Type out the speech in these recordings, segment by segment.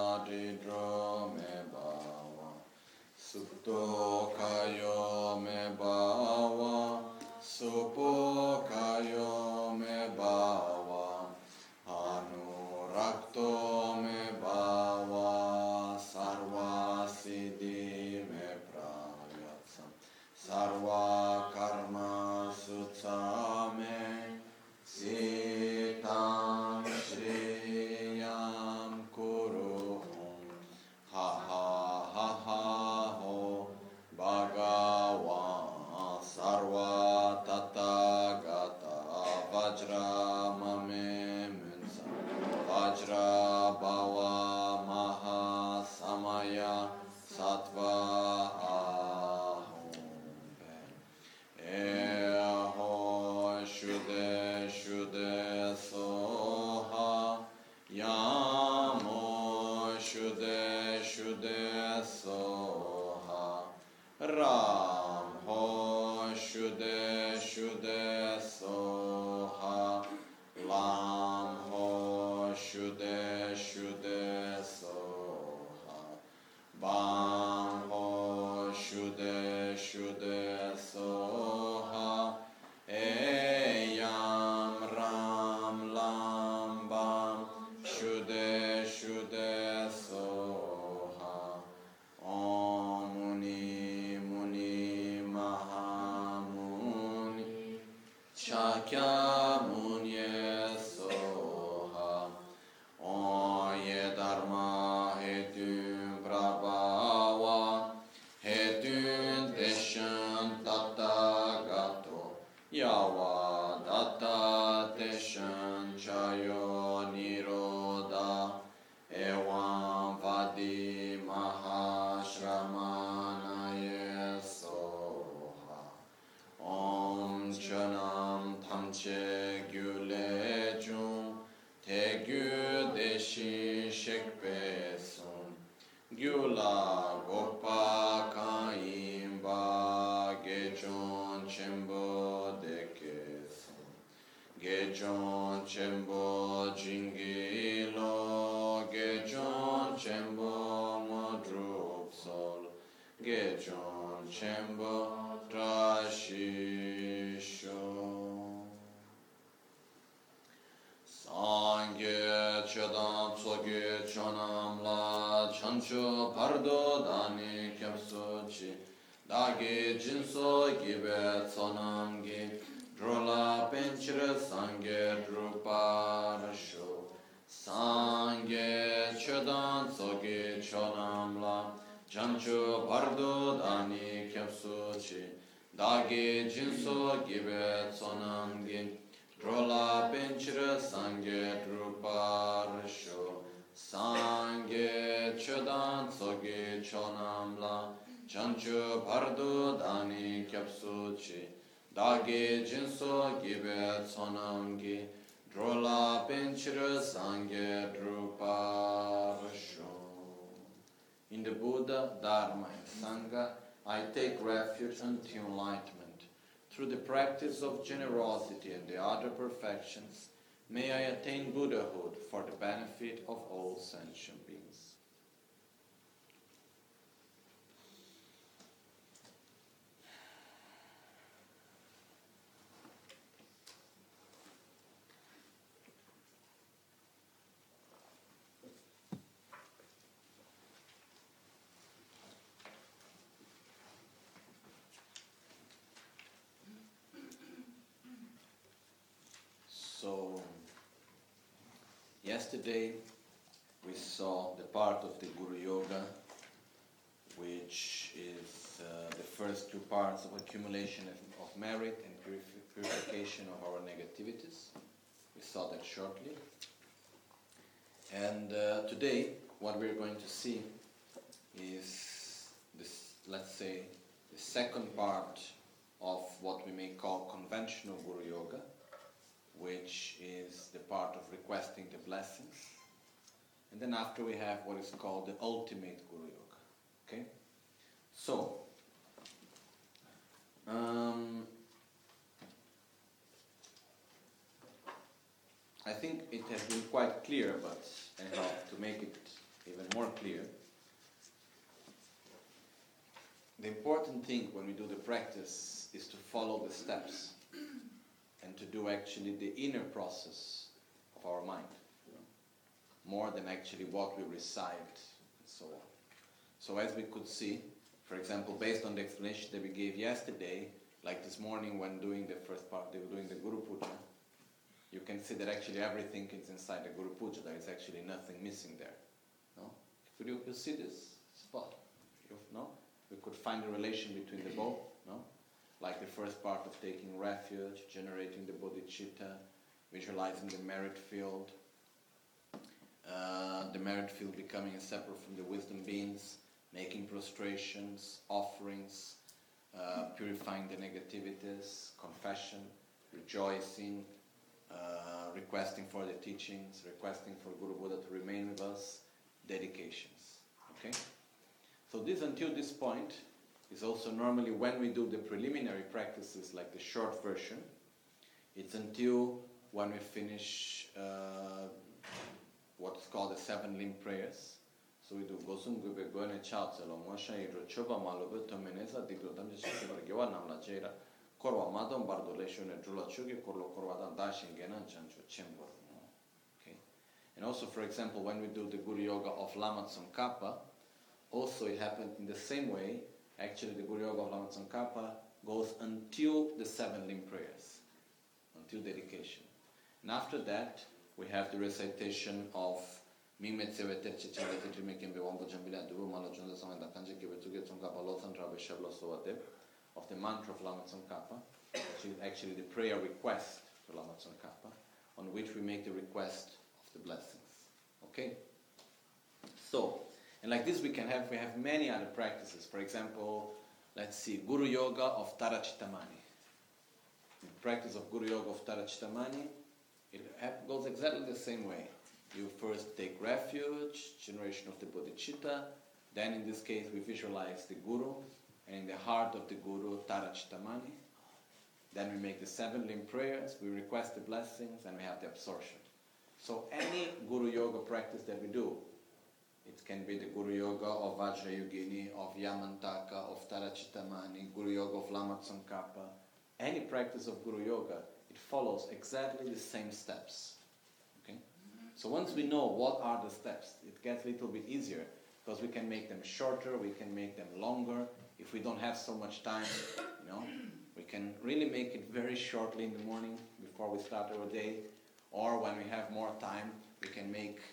didro me bawa Supto kayo me bawa Supo kayo me bawa Anurakto me bawa Sarva siddhi me prayatsam Sarva karma sutsame Sitam Shriyam Kuruhum Ha ha ha ha ho Bhagavan Sarva Tathagata Vajra Mame Munsa Vajra Bhava Maha Samaya Sattva Shuddha soha Yamo Shuddha soha Ram ho Shuddha soha Lam ho Shuddha soha Bam ho Shuddha soha Eyam Ram Lam Bam Shuddha soha Om Muni Mahamuni Shakyamuni soha Om Ye Dharma Hetun Prabhava Hetun Deshan Tathagato Yava Datta Deshan Chayo Niroda Evam Vadi Mahashramanaye Soha Om Chanam Tamche Gyule Jum Te Gyu Deshi Shekpe Sum Gyula Gopa Kaimba Gechon Chembo Dekesum Gechon Chembo Jingilo Gechon Chembo Modrup Sol Gechon Chembo Trashisho Sangye Chedam Soge Chonam La Chancho Pardo Dani Kepsuchi Dagi Jinso Gibe Tsonamgi Drola Penchira Sangye Druparasho Sangye Chedam Soge Chonam La Chancho Pardo Dani Kepsuchi Dagi Jinso Gibe Tsonamgi Drola Penchira Sangye Druparasho Sangye Chodan Soge Chonam La Chancho Pardo Dani Kyapsuchi Dage Jinso Gibe Tsonamgi Drola Penchira Sangye Druparasho. In the Buddha, Dharma and Sangha, I take refuge unto enlightenment. Through the practice of generosity and the other perfections, may I attain Buddhahood for the benefit of all sentient beings. So, yesterday we saw the part of the Guru Yoga, which is the first two parts of accumulation of merit and purification of our negativities. We saw that shortly. And today, what we're going to see is this, let's say, the second part of what we may call conventional Guru Yoga, which is the part of requesting the blessings. And then after we have what is called the ultimate Guru Yoga. Okay? So, I think it has been quite clear, but anyhow, to make it even more clear. The important thing when we do the practice is to follow the steps and to do actually the inner process of our mind, more than actually what we recite and so on. So as we could see, for example, based on the explanation that we gave yesterday, like this morning when doing the first part, doing the Guru Puja, you can see that actually everything is inside the Guru Puja. There is actually nothing missing there. No? You see this spot? No? We could find a relation between the both. No? Like the first part of taking refuge, generating the bodhicitta, visualizing the merit field, becoming separate from the wisdom beings, making prostrations, offerings, purifying the negativities, confession, rejoicing, requesting for the teachings, requesting for Guru Buddha to remain with us, dedications. Okay? So this, until this point, is also normally when we do the preliminary practices, like the short version. It's until when we finish what's called the 7 limb prayers. So we do Gosum Gube Gone Chatselo, Mosha Hidro Choba Malube, Tomeneza, Digrodam Jessica, Namla Jera, Korwa Madam Bardolation, Jula Chugi, Korlo Korwadan Dashin Genan Chancho Chimbo. Okay. And also, for example, when we do the Guru Yoga of Lama Tsongkhapa, also it happened in the same way. Actually, the Guru Yoga of Lama Tsongkhapa goes until the 7 limb prayers, until dedication. And after that, we have the recitation of of the mantra of Lama Tsongkhapa, which is actually the prayer request for Lama Tsongkhapa, on which we make the request of the blessings. Okay? So, and like this we have many other practices. For example, let's see, Guru Yoga of Tara Chittamani. The practice of Guru Yoga of Tara Chittamani, it goes exactly the same way. You first take refuge, generation of the bodhicitta, then in this case we visualize the Guru, and in the heart of the Guru, Tara Chittamani. Then we make the 7 limb prayers, we request the blessings, and we have the absorption. So any Guru Yoga practice that we do, it can be the Guru Yoga of Vajrayogini, of Yamantaka, of Tara Chittamani, Guru Yoga of Lama Tsongkhapa, any practice of Guru Yoga, it follows exactly the same steps. Okay? So once we know what are the steps, it gets a little bit easier, because we can make them shorter, we can make them longer. If we don't have so much time, we can really make it very shortly in the morning before we start our day, or when we have more time, we can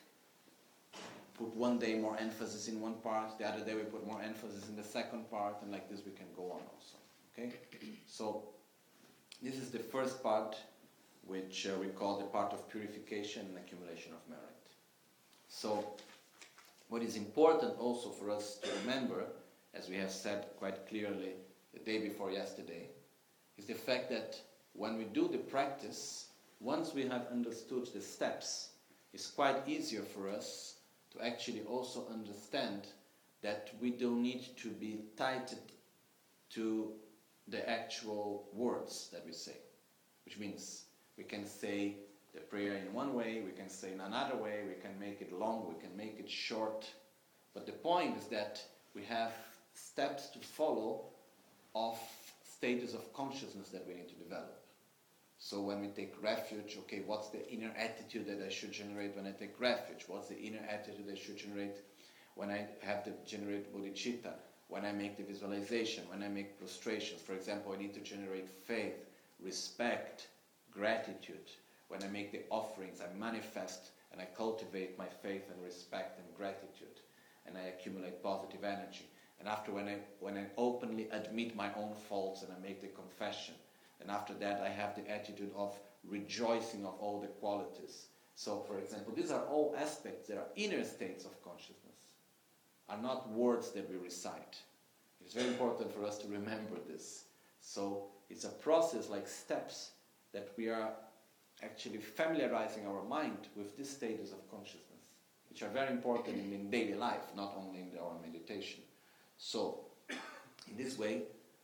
put one day more emphasis in one part, the other day we put more emphasis in the second part, and like this we can go on also. Okay? So this is the first part, which we call the part of purification and accumulation of merit. So what is important also for us to remember, as we have said quite clearly the day before yesterday, is the fact that when we do the practice, once we have understood the steps, it's quite easier for us to actually also understand that we don't need to be tied to the actual words that we say. Which means we can say the prayer in one way, we can say in another way, we can make it long, we can make it short. But the point is that we have steps to follow of stages of consciousness that we need to develop. So when we take refuge, okay, what's the inner attitude that I should generate when I take refuge? What's the inner attitude I should generate when I have to generate bodhicitta? When I make the visualization, when I make prostrations. For example, I need to generate faith, respect, gratitude. When I make the offerings, I manifest and I cultivate my faith and respect and gratitude. And I accumulate positive energy. And after when I openly admit my own faults and I make the confession, and after that I have the attitude of rejoicing of all the qualities. So for example, these are all aspects that are inner states of consciousness, are not words that we recite. It's very important for us to remember this. So it's a process, like steps, that we are actually familiarizing our mind with these stages of consciousness, which are very important in daily life, not only in our meditation. So in this way,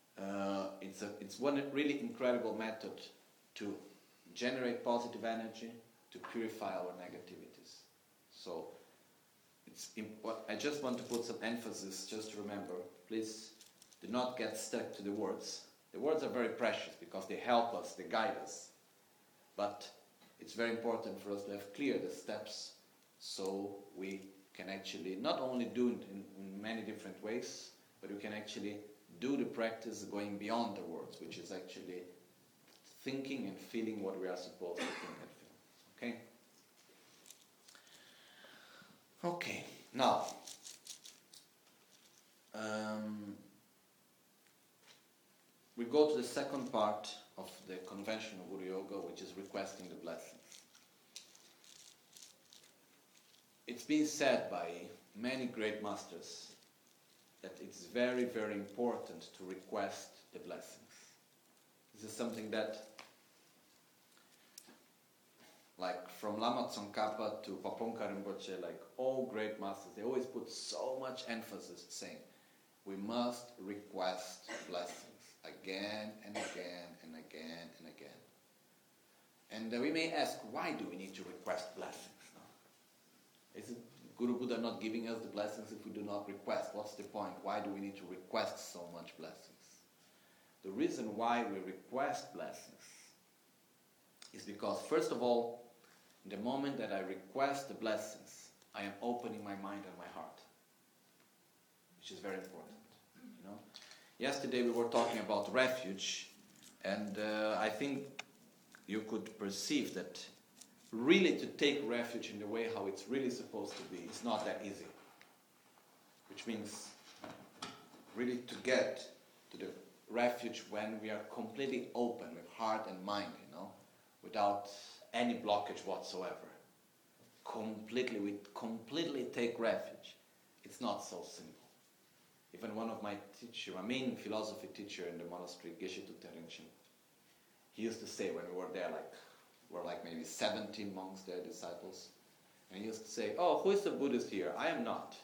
it's one really incredible method to generate positive energy, to purify our negativities. So I just want to put some emphasis, just to remember, please do not get stuck to the words. The words are very precious because they help us, they guide us. But it's very important for us to have clear the steps so we can actually not only do it in many different ways, but we can actually do the practice going beyond the words, which is actually thinking and feeling what we are supposed to think and feel. Okay? Okay, now, we go to the second part of the conventional Guru Yoga, which is requesting the blessings. It's been said by many great masters that it's very, very important to request the blessings. This is something that, like from Lama Tsongkhapa to Pabongka Rinpoche, like all great masters, they always put so much emphasis saying, we must request blessings again and again and again and again. And we may ask, why do we need to request blessings? No? Is it Guru Buddha not giving us the blessings if we do not request? What's the point? Why do we need to request so much blessings? The reason why we request blessings is because, first of all, the moment that I request the blessings, I am opening my mind and my heart, which is very important. You know, yesterday we were talking about refuge, and I think you could perceive that really to take refuge in the way how it's really supposed to be, it's not that easy. Which means really to get to the refuge when we are completely open with heart and mind, you know, without any blockage whatsoever. We completely take refuge. It's not so simple. Even one of my main philosophy teacher in the monastery, Geshe Thupten Rinchen, he used to say when we were there, were maybe 17 monks there, disciples, and he used to say, oh, who is the Buddhist here? I am not.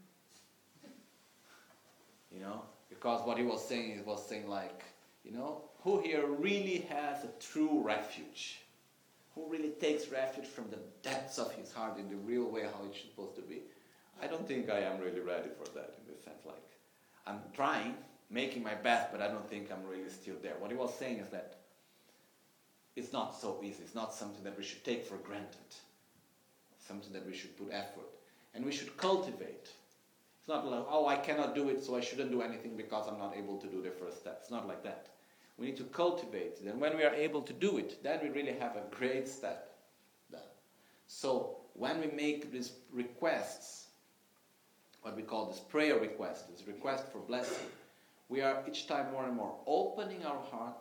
You know, because what he was saying like, you know, who here really has a true refuge? Who really takes refuge from the depths of his heart in the real way how it's supposed to be? I don't think I am really ready for that, in the sense like, I'm trying, making my best, but I don't think I'm really still there. What he was saying is that it's not so easy. It's not something that we should take for granted. Something that we should put effort. And we should cultivate. It's not like, oh, I cannot do it, so I shouldn't do anything because I'm not able to do the first step. It's not like that. We need to cultivate it. And when we are able to do it, then we really have a great step done. So when we make these requests, what we call this prayer request, this request for blessing, we are each time more and more opening our heart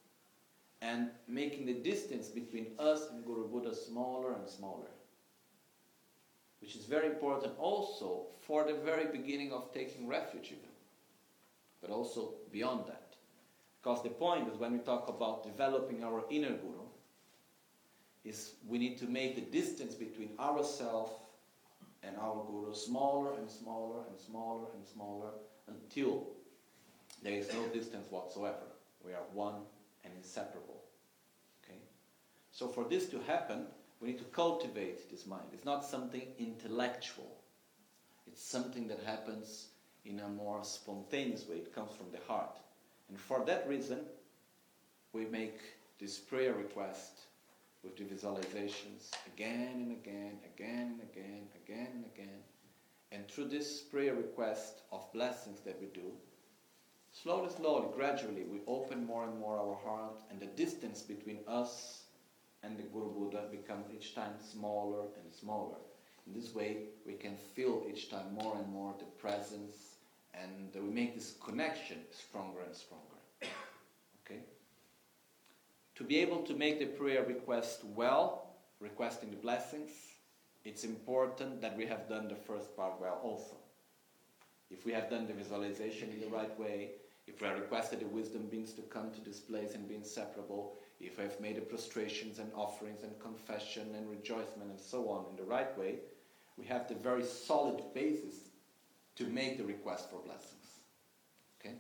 and making the distance between us and Guru Buddha smaller and smaller. Which is very important also for the very beginning of taking refuge even. But also beyond that. Because the point is, when we talk about developing our inner Guru, is we need to make the distance between ourselves and our Guru smaller and smaller and smaller and smaller until there is no distance whatsoever. We are one and inseparable. Okay? So for this to happen, we need to cultivate this mind. It's not something intellectual. It's something that happens in a more spontaneous way. It comes from the heart. And for that reason, we make this prayer request with the visualizations again and again, again and again, again and again. And through this prayer request of blessings that we do, slowly, slowly, gradually, we open more and more our heart, and the distance between us and the Guru Buddha becomes each time smaller and smaller. In this way, we can feel each time more and more the presence, and we make this connection stronger and stronger. Okay? To be able to make the prayer request well, requesting the blessings, it's important that we have done the first part well also. If we have done the visualization in the right way, if we have requested the wisdom beings to come to this place and be inseparable, if we have made the prostrations and offerings and confession and rejoicement and so on in the right way, we have the very solid basis to make the request for blessings. Okay?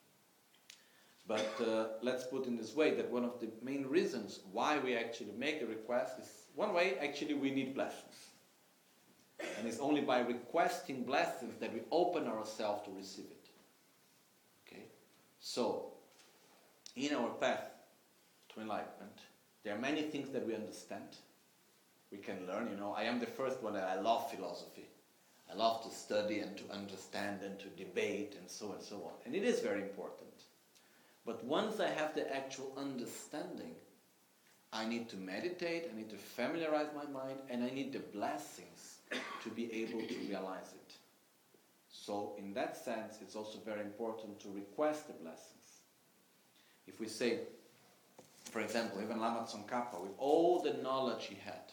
But let's put in this way that one of the main reasons why we actually make a request is, one way, actually we need blessings. And it's only by requesting blessings that we open ourselves to receive it. Okay? So, in our path to enlightenment, there are many things that we understand. We can learn, I am the first one that I love philosophy. I love to study and to understand and to debate and so on. And it is very important. But once I have the actual understanding, I need to meditate, I need to familiarize my mind, and I need the blessings to be able to realize it. So in that sense, it's also very important to request the blessings. If we say, for example, even Lama Tsongkhapa, with all the knowledge he had,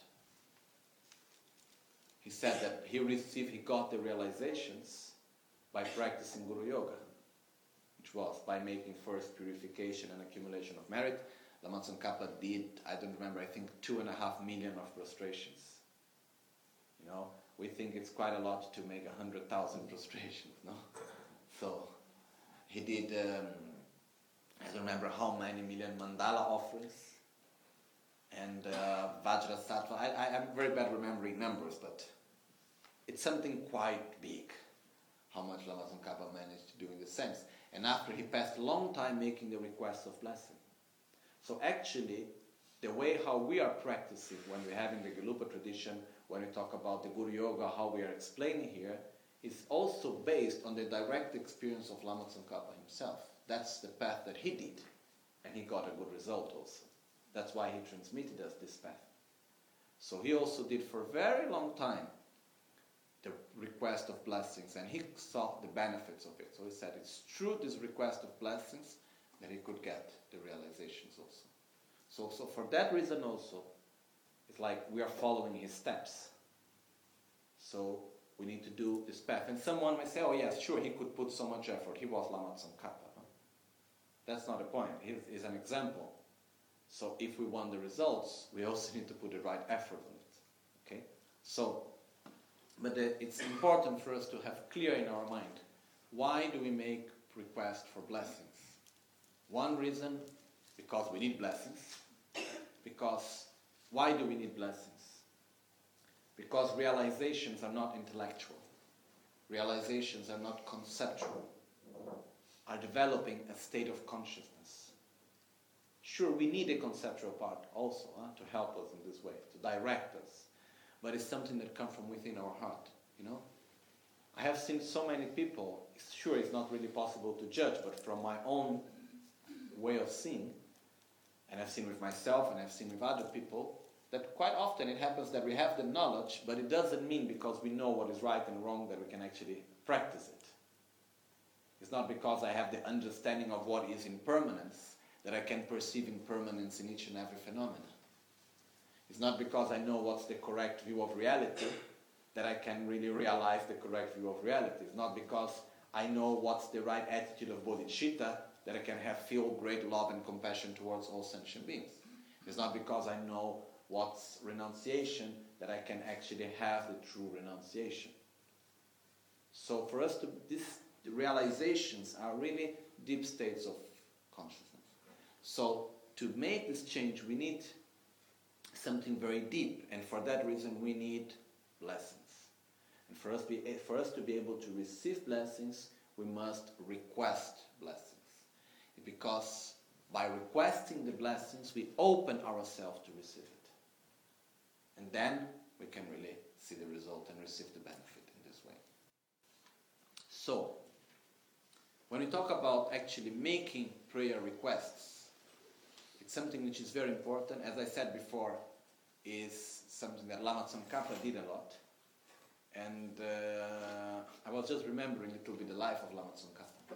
he said that he got the realizations by practicing Guru Yoga, which was by making first purification and accumulation of merit. Lama Tsongkhapa did, I don't remember, I think 2.5 million of prostrations. We think it's quite a lot to make 100,000 prostrations, no? So he did, I don't remember how many million mandala offerings, and Vajrasattva. I'm very bad remembering numbers, but it's something quite big, how much Lama Tsongkhapa managed to do in this sense. And after he passed a long time making the requests of blessing. So actually, the way how we are practicing when we have in the Gelupa tradition, when we talk about the Guru Yoga, how we are explaining here, is also based on the direct experience of Lama Tsongkhapa himself. That's the path that he did, and he got a good result also. That's why he transmitted us this path. So he also did for a very long time the request of blessings, and he saw the benefits of it. So he said it's through this request of blessings that he could get the realizations also. So for that reason also, it's like we are following his steps. So we need to do this path. And someone may say, oh yes, sure, he could put so much effort. He was Lama Tsongkhapa. No? That's not the point. He's an example. So if we want the results, we also need to put the right effort on it. Okay? So, but it's important for us to have clear in our mind, why do we make requests for blessings? One reason, because we need blessings. Because, why do we need blessings? Because realizations are not intellectual. Realizations are not conceptual. Are developing a state of consciousness. Sure, we need a conceptual part also to help us in this way, to direct us. But it's something that comes from within our heart, I have seen so many people, sure it's not really possible to judge, but from my own way of seeing, and I've seen with myself and I've seen with other people, that quite often it happens that we have the knowledge, but it doesn't mean because we know what is right and wrong that we can actually practice it. It's not because I have the understanding of what is impermanence that I can perceive impermanence in each and every phenomenon. It's not because I know what's the correct view of reality that I can really realize the correct view of reality. It's not because I know what's the right attitude of bodhicitta that I can feel great love and compassion towards all sentient beings. It's not because I know what's renunciation that I can actually have the true renunciation. So for us the realizations are really deep states of consciousness. So to make this change, we need something very deep, and for that reason we need blessings. And for us to be able to receive blessings, we must request blessings. Because by requesting the blessings, we open ourselves to receive it. And then we can really see the result and receive the benefit in this way. So, when we talk about actually making prayer requests, it's something which is very important. As I said before, is something that Lama Tsongkhapa did a lot. And I was just remembering a little bit the life of Lama Tsongkhapa.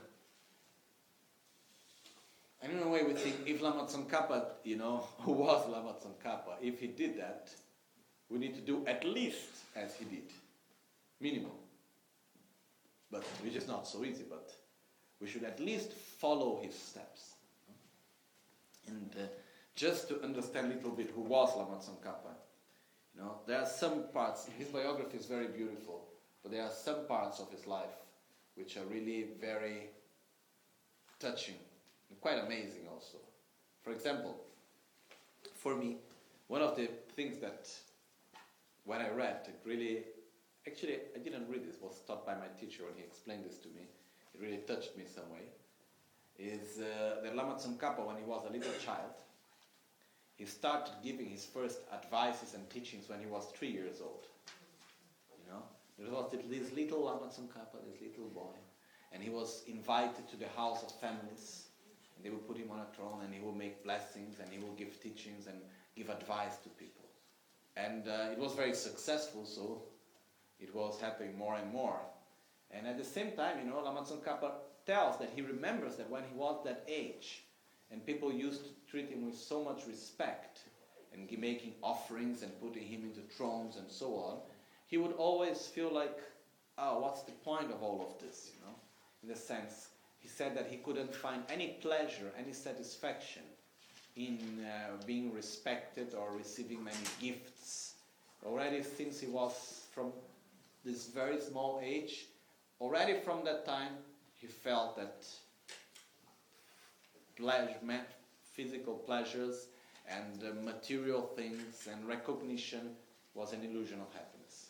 And in a way we think, if Lama Tsongkhapa, who was Lama Tsongkhapa, if he did that, we need to do at least as he did. Minimum. But which is not so easy, but we should at least follow his steps. And just to understand a little bit who was Lama Tsongkhapa, there are some parts, his biography is very beautiful, but there are some parts of his life which are really very touching and quite amazing also. For example, for me, one of the things that when I read, it really Actually, I didn't read this. It was taught by my teacher when he explained this to me. It really touched me some way. Is that Lama Tsongkhapa, when he was a little child, he started giving his first advices and teachings when he was 3 years old. You know, there was this little Lama Tsongkhapa, this little boy, and he was invited to the house of families, and they would put him on a throne, and he would make blessings, and he would give teachings and give advice to people. And it was very successful, so it was happening more and more. And at the same time, you know, Lama Tsongkhapa tells that he remembers that when he was that age, and people used to treat him with so much respect, and making offerings and putting him into thrones and so on, he would always feel like, oh, what's the point of all of this, you know? In the sense, he said that he couldn't find any pleasure, any satisfaction in being respected or receiving many gifts. Already since he was from this very small age, already from that time, he felt that physical pleasures and material things and recognition was an illusion of happiness.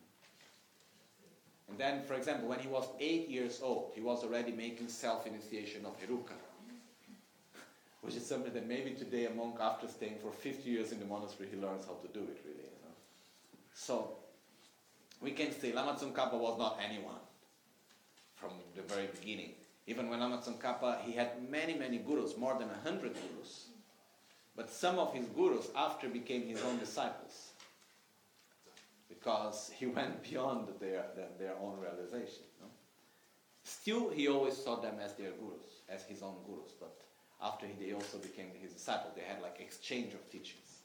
And then, for example, when he was 8 years old, he was already making self-initiation of Heruka, which is something that maybe today a monk, after staying for 50 years in the monastery, he learns how to do it, really. You know? So, we can say Lama Tsongkhapa was not anyone from the very beginning. Even when Lama Tsongkhapa, he had many, many gurus, more than 100 gurus. But some of his gurus after became his own disciples, because he went beyond their own realization. No? Still, he always saw them as their gurus, as his own gurus. But after they also became his disciples, they had like exchange of teachings.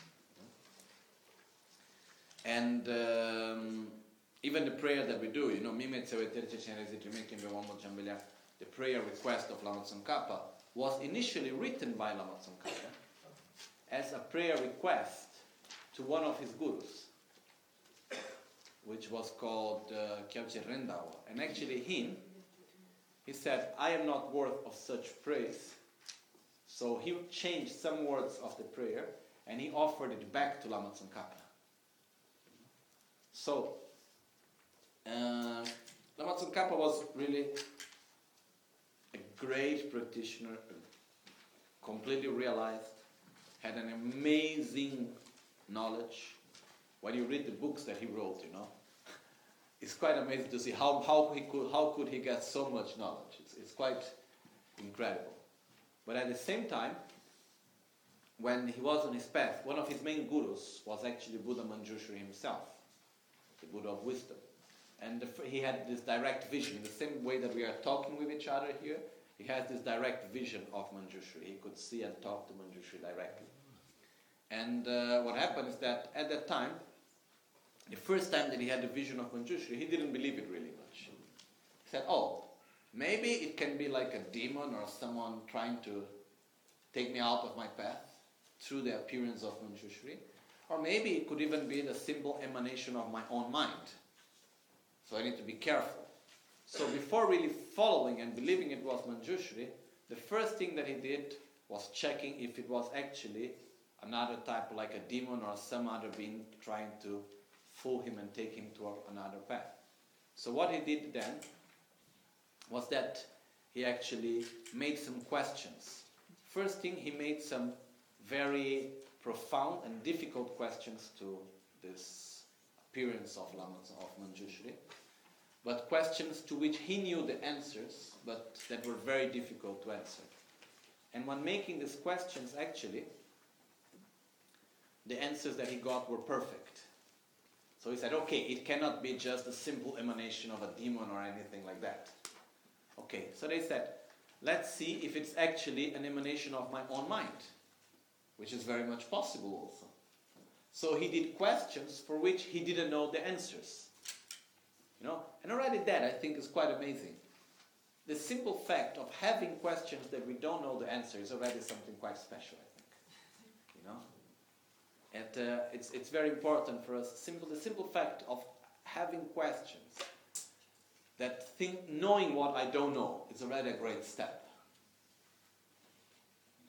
And even the prayer that we do, you know, the prayer request of Lama Tsongkhapa was initially written by Lama Tsongkhapa as a prayer request to one of his gurus, which was called Kyalche Rendawa. And actually he said, I am not worth of such praise. So he changed some words of the prayer and he offered it back to Lama Tsongkhapa. So, Lama Tsongkhapa was really a great practitioner, completely realized, had an amazing knowledge. When you read the books that he wrote, you know, it's quite amazing to see how could he get so much knowledge. It's quite incredible. But at the same time, when he was on his path, one of his main gurus was actually Buddha Manjushri himself, the Buddha of wisdom. And he had this direct vision. In the same way that we are talking with each other here, he has this direct vision of Manjushri. He could see and talk to Manjushri directly. And what happened is that at that time, the first time that he had the vision of Manjushri, he didn't believe it really much. He said, oh, maybe it can be like a demon or someone trying to take me out of my path through the appearance of Manjushri. Or maybe it could even be the simple emanation of my own mind. So I need to be careful. So before really following and believing it was Manjushri, the first thing that he did was checking if it was actually another type, like a demon or some other being trying to fool him and take him to another path. So what he did then was that he actually made some questions. First thing, he made some very profound and difficult questions to this appearance of Manjushri, but questions to which he knew the answers, but that were very difficult to answer. And when making these questions, actually, the answers that he got were perfect. So he said, okay, it cannot be just a simple emanation of a demon or anything like that. Okay, so they said, let's see if it's actually an emanation of my own mind, which is very much possible also. So he did questions for which he didn't know the answers. You know, and already that I think is quite amazing. The simple fact of having questions that we don't know the answer is already something quite special, I think. You know, and it's very important for us. The simple fact of having questions, knowing what I don't know, is already a great step.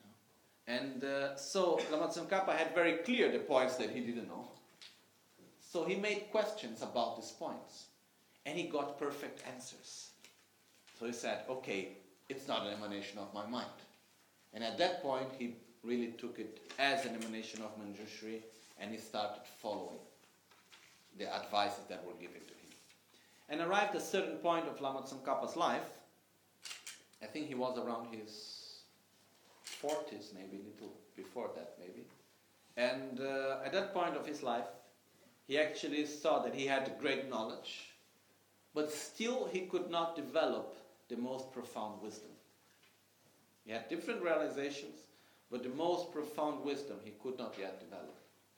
And so Lama Tsongkhapa had very clear the points that he didn't know. So he made questions about these points, and he got perfect answers. So he said, okay, it's not an emanation of my mind. And at that point, he really took it as an emanation of Manjushri, and he started following the advices that were given to him. And arrived at a certain point of Lama Tsongkhapa's life. I think he was around his 40s, maybe, a little before that, maybe. And at that point of his life, he actually saw that he had great knowledge, but still he could not develop the most profound wisdom. He had different realizations, but the most profound wisdom he could not yet develop.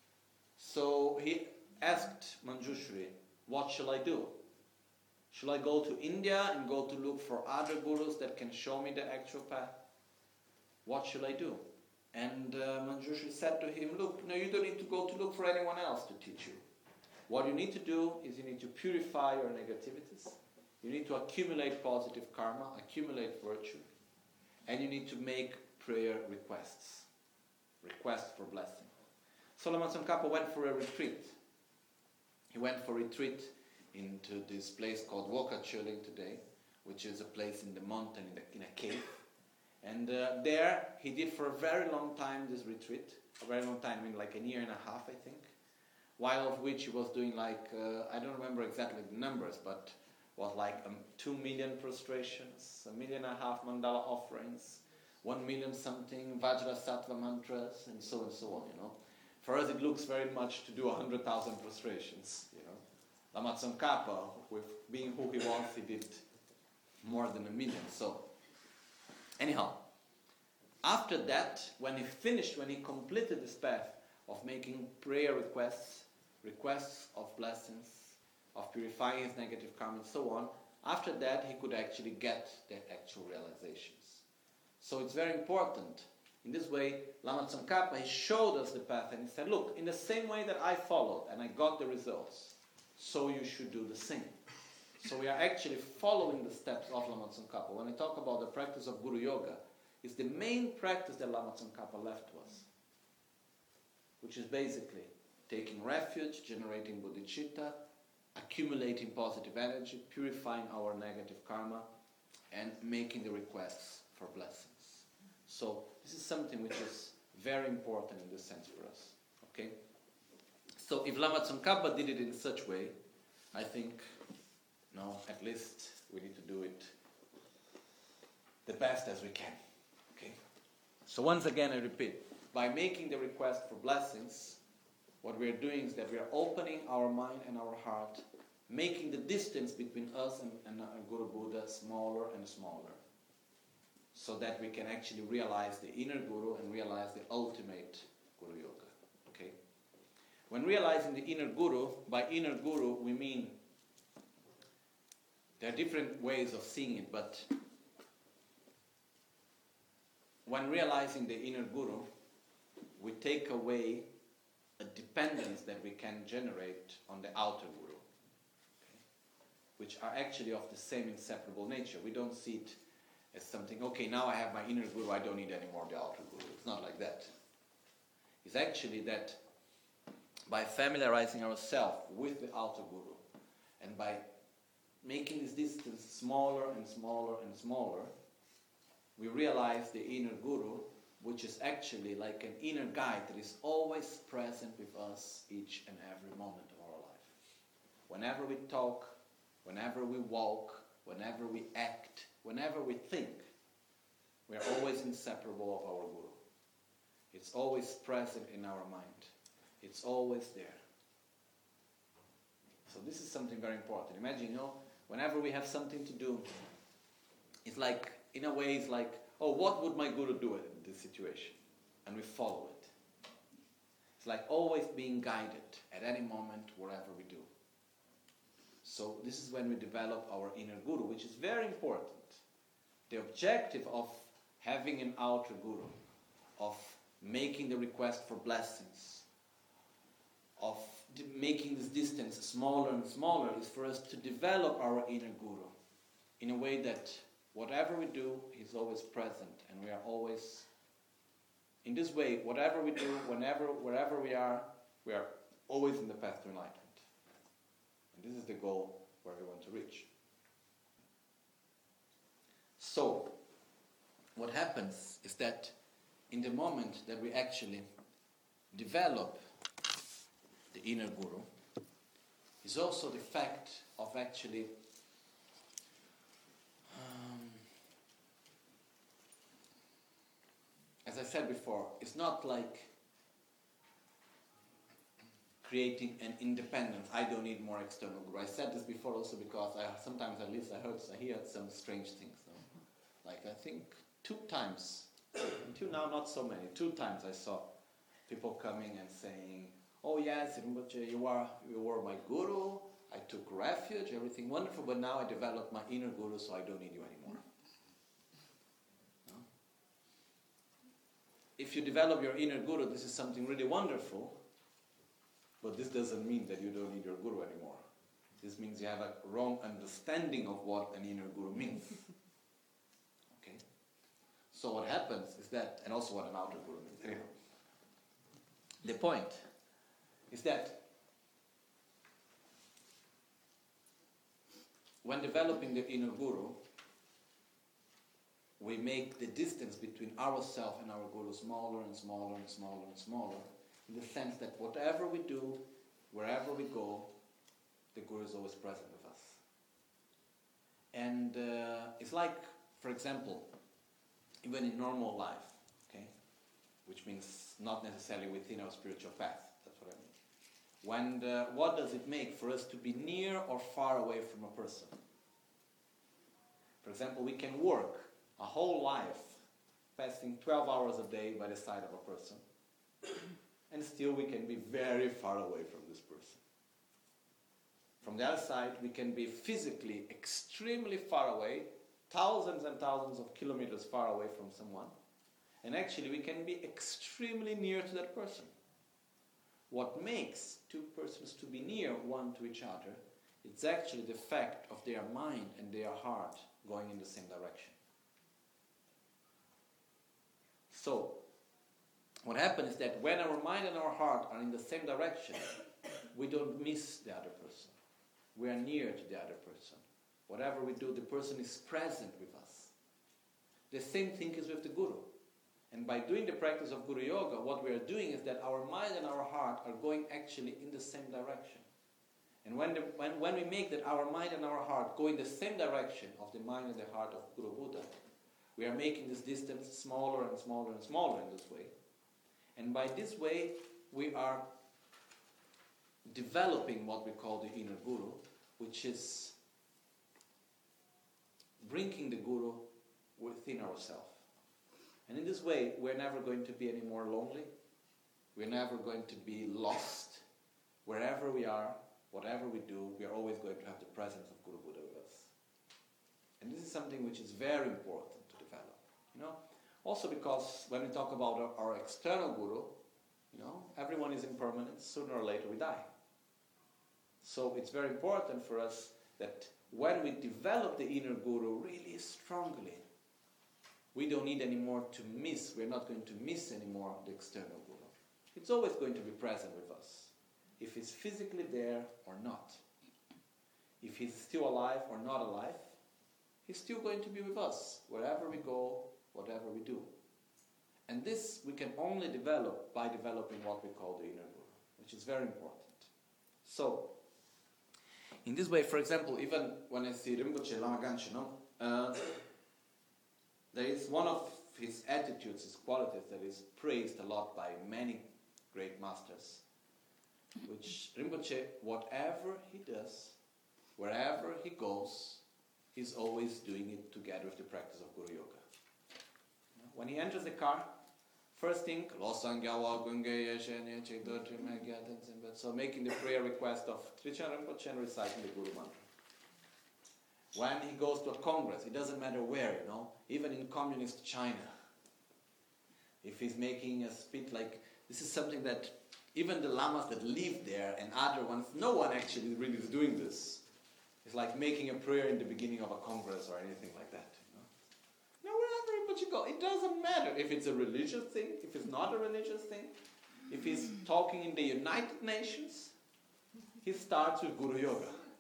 So he asked Manjushri, what shall I do? Shall I go to India and go to look for other gurus that can show me the actual path? What shall I do? And Manjushri said to him, look, no, you don't need to go to look for anyone else to teach you. What you need to do is you need to purify your negativities. You need to accumulate positive karma, accumulate virtue. And you need to make prayer requests. Requests for blessing. So Lama Tsongkhapa went for a retreat. He went for a retreat into this place called Wokachuling today, which is a place in the mountain, in a cave. And there he did for a very long time this retreat. A very long time, I mean like a year and a half, I think. While of which he was doing like, I don't remember exactly the numbers, but was like 2 million prostrations, 1.5 million mandala offerings, 1 million something Vajrasattva mantras, and so on, you know. For us it looks very much to do 100,000 prostrations, you know. Lama Tsongkhapa, with being who he was, he did more than 1 million. So, anyhow, after that, when he completed this path of making prayer requests of blessings, of purifying his negative karma and so on, after that he could actually get the actual realizations. So it's very important. In this way, Lama Tsongkhapa, he showed us the path and he said, look, in the same way that I followed and I got the results, so you should do the same. So we are actually following the steps of Lama Tsongkhapa. When I talk about the practice of Guru Yoga, it's the main practice that Lama Tsongkhapa left to us, which is basically taking refuge, generating bodhicitta, accumulating positive energy, purifying our negative karma, and making the requests for blessings. So this is something which is very important in this sense for us. Okay? So if Lama Tsongkhapa did it in such way, I think, no, at least we need to do it the best as we can. Okay? So once again I repeat, by making the request for blessings, what we are doing is that we are opening our mind and our heart, making the distance between us and Guru Buddha smaller and smaller, so that we can actually realize the inner Guru and realize the ultimate Guru Yoga. Okay? When realizing the inner Guru, by inner Guru we mean, there are different ways of seeing it, but when realizing the inner Guru, we take away a dependence that we can generate on the outer Guru, okay? Which are actually of the same inseparable nature. We don't see it as something, okay, now I have my inner Guru, I don't need any more the outer Guru. It's not like that. It's actually that by familiarizing ourselves with the outer Guru, and by making this distance smaller and smaller and smaller, we realize the inner Guru, which is actually like an inner guide that is always present with us each and every moment of our life. Whenever we talk, whenever we walk, whenever we act, whenever we think, we are always inseparable of our Guru. It's always present in our mind. It's always there. So this is something very important. Imagine, whenever we have something to do, it's like, in a way, it's like, oh, what would my Guru do in this situation? And we follow it. It's like always being guided at any moment, wherever we do. So this is when we develop our inner Guru, which is very important. The objective of having an outer Guru, of making the request for blessings, of making this distance smaller and smaller, is for us to develop our inner Guru in a way that whatever we do, he's always present, and we are always, in this way, whatever we do, wherever we are always in the path to enlightenment. And this is the goal where we want to reach. So, what happens is that in the moment that we actually develop the inner guru, is also the fact of actually as I said before, it's not like creating an independence. I don't need more external guru. I said this before also because sometimes at least I hear some strange things. No? Like I think 2 times, until now not so many, 2 times I saw people coming and saying, oh yes, Rinpoche, you were my guru, I took refuge, everything wonderful, but now I developed my inner guru, so I don't need you anymore. No? If you develop your inner guru, this is something really wonderful, but this doesn't mean that you don't need your guru anymore. This means you have a wrong understanding of what an inner guru means. Okay? So what happens is that, and also what an outer guru means. Anyhow, the point is that when developing the inner guru, we make the distance between ourselves and our guru smaller and smaller and smaller and smaller, in the sense that whatever we do, wherever we go, the guru is always present with us. And it's like, for example, even in normal life, okay, which means not necessarily within our spiritual path, that's what I mean. What does it make for us to be near or far away from a person? For example, we can work a whole life passing 12 hours a day by the side of a person, and still we can be very far away from this person. From the other side, we can be physically extremely far away, thousands and thousands of kilometers far away from someone, and actually we can be extremely near to that person. What makes 2 persons to be near one to each other, it's actually the fact of their mind and their heart going in the same direction. So, what happens is that when our mind and our heart are in the same direction, we don't miss the other person. We are near to the other person. Whatever we do, the person is present with us. The same thing is with the guru. And by doing the practice of Guru Yoga, what we are doing is that our mind and our heart are going actually in the same direction. And when we make that our mind and our heart go in the same direction of the mind and the heart of Guru Buddha, we are making this distance smaller and smaller and smaller in this way. And by this way, we are developing what we call the inner guru, which is bringing the guru within ourselves. And in this way, we're never going to be any more lonely. We're never going to be lost. Wherever we are, whatever we do, we are always going to have the presence of Guru Buddha with us. And this is something which is very important to develop. You know, also because when we talk about our external guru, you know, everyone is impermanent. Sooner or later we die. So it's very important for us that when we develop the inner guru really strongly, we don't need anymore to miss, we're not going to miss anymore the external guru. It's always going to be present with us, if he's physically there or not. If he's still alive or not alive, he's still going to be with us, wherever we go, whatever we do. And this we can only develop by developing what we call the inner guru, which is very important. So, in this way, for example, even when I see Rinpoche Lama Ganchen, there is one of his attitudes, his qualities that is praised a lot by many great masters, which Rinpoche, whatever he does, wherever he goes, he's always doing it together with the practice of Guru Yoga. When he enters the car, first thing, so making the prayer request of Trijang Rinpoche and reciting the Guru Mantra. When he goes to a congress, it doesn't matter where, you know, even in communist China, if he's making a speech, like, this is something that even the lamas that live there and other ones, no one actually really is doing this. It's like making a prayer in the beginning of a congress or anything like that. You know, wherever you go, it doesn't matter if it's a religious thing, if it's not a religious thing. If he's talking in the United Nations, he starts with Guru Yoga.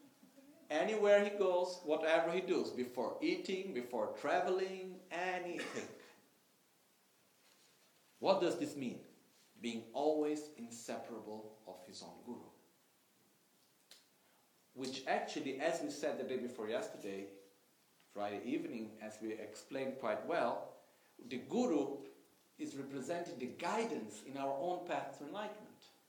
Anywhere he goes, whatever he does, before eating, before traveling, anything. What does this mean? Being always inseparable of his own guru. Which actually, as we said the day before yesterday, Friday evening, as we explained quite well, the guru is representing the guidance in our own path to enlightenment.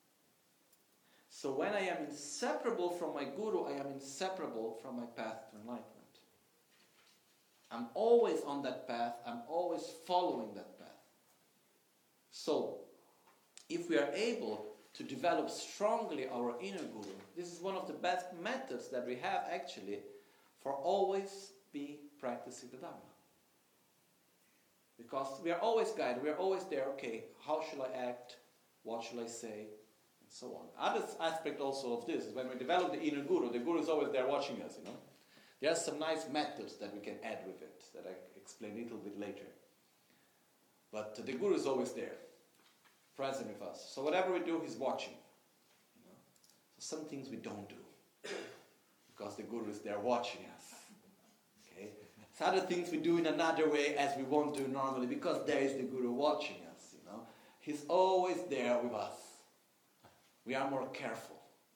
So when I am inseparable from my guru, I am inseparable from my path to enlightenment. I'm always on that path, I'm always following that path. So, if we are able to develop strongly our inner guru, this is one of the best methods that we have actually for always be practicing the Dharma. Because we are always guided, we are always there, okay, how shall I act, what shall I say, and so on. Other aspect also of this is when we develop the inner guru, the guru is always there watching us, There are some nice methods that we can add with it, that I explain a little bit later. But the guru is always there, present with us. So whatever we do, he's watching. So some things we don't do, because the guru is there watching us. Okay? So other things we do in another way as we won't do normally, because there is the guru watching us. He's always there with us. We are more careful.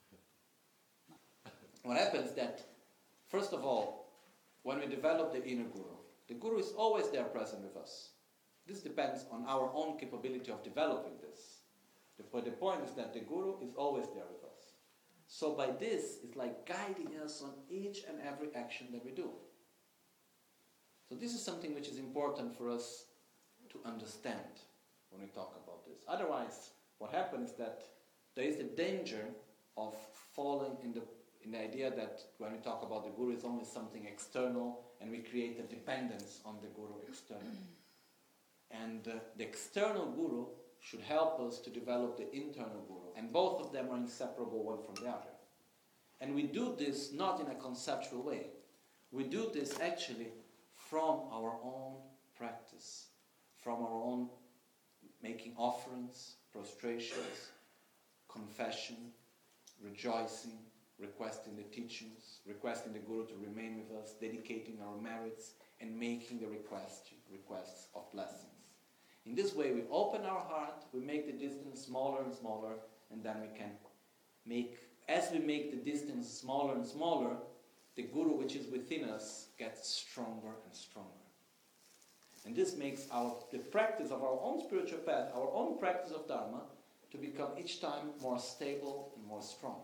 What happens is that, first of all, when we develop the inner guru, the guru is always there present with us. This depends on our own capability of developing this. But the point is that the guru is always there with us. So by this, it's like guiding us on each and every action that we do. So this is something which is important for us to understand when we talk about this. Otherwise, what happens is that there is the danger of falling in the idea that when we talk about the guru, it's only something external and we create a dependence on the guru externally. And the external guru should help us to develop the internal guru. And both of them are inseparable one from the other. And we do this not in a conceptual way. We do this actually from our own practice, from our own making offerings, prostrations, confession, rejoicing, requesting the teachings, requesting the guru to remain with us, dedicating our merits, and making the requests of blessings. In this way, we open our heart, we make the distance smaller and smaller, and then we can make, as we make the distance smaller and smaller, the guru which is within us gets stronger and stronger. And this makes the practice of our own spiritual path, our own practice of Dharma, to become each time more stable and more strong.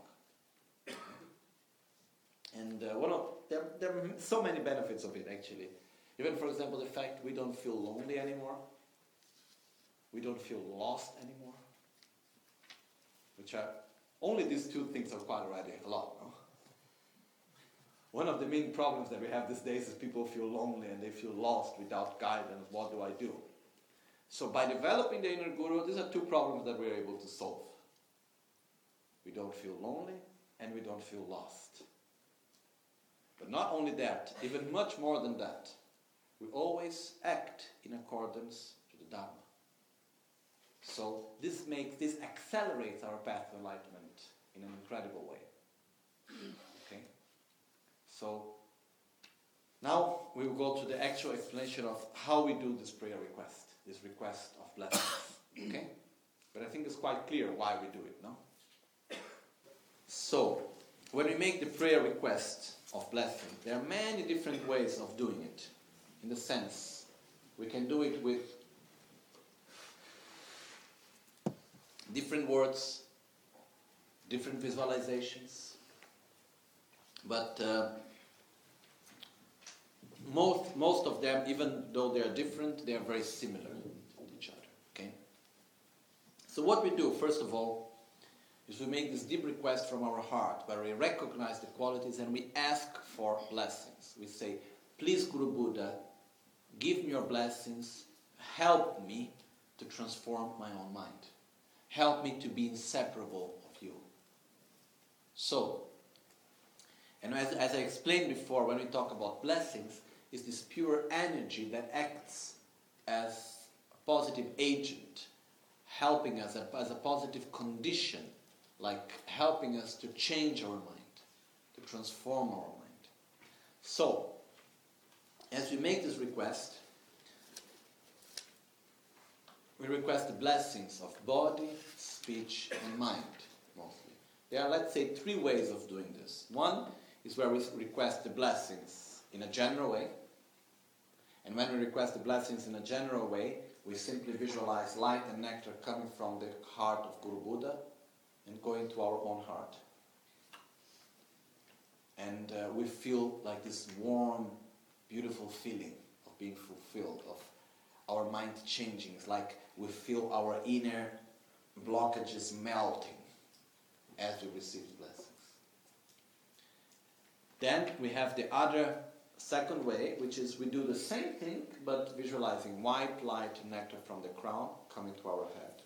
And there are so many benefits of it actually. Even for example the fact we don't feel lonely anymore. We don't feel lost anymore. Which are, only these two things are quite already a lot, no? One of the main problems that we have these days is people feel lonely and they feel lost without guidance. What do I do? So by developing the inner guru, these are two problems that we're able to solve. We don't feel lonely and we don't feel lost. But not only that, even much more than that, we always act in accordance to the Dharma. So this accelerates our path to enlightenment in an incredible way. Okay? So now we will go to the actual explanation of how we do this prayer request, this request of blessings. Okay? But I think it's quite clear why we do it, no? So, when we make the prayer request of blessing, there are many different ways of doing it. In the sense, we can do it with different words, different visualizations, but most of them, even though they are different, they are very similar to each other. Okay? So what we do, first of all, is we make this deep request from our heart, where we recognize the qualities and we ask for blessings. We say, please Guru Buddha, give me your blessings, help me to transform my own mind. Help me to be inseparable of you. So, and as I explained before, when we talk about blessings, it's this pure energy that acts as a positive agent, helping us as a positive condition, like helping us to change our mind, to transform our mind. So, as we make this request, we request the blessings of body, speech, and mind, mostly. There are, let's say, 3 ways of doing this. One is where we request the blessings in a general way. And when we request the blessings in a general way, we simply visualize light and nectar coming from the heart of Guru Buddha and going to our own heart. And we feel like this warm, beautiful feeling of being fulfilled, of our mind changing. It's like we feel our inner blockages melting as we receive the blessings. Then we have the other second way, which is we do the same thing, but visualizing white light and nectar from the crown coming to our head.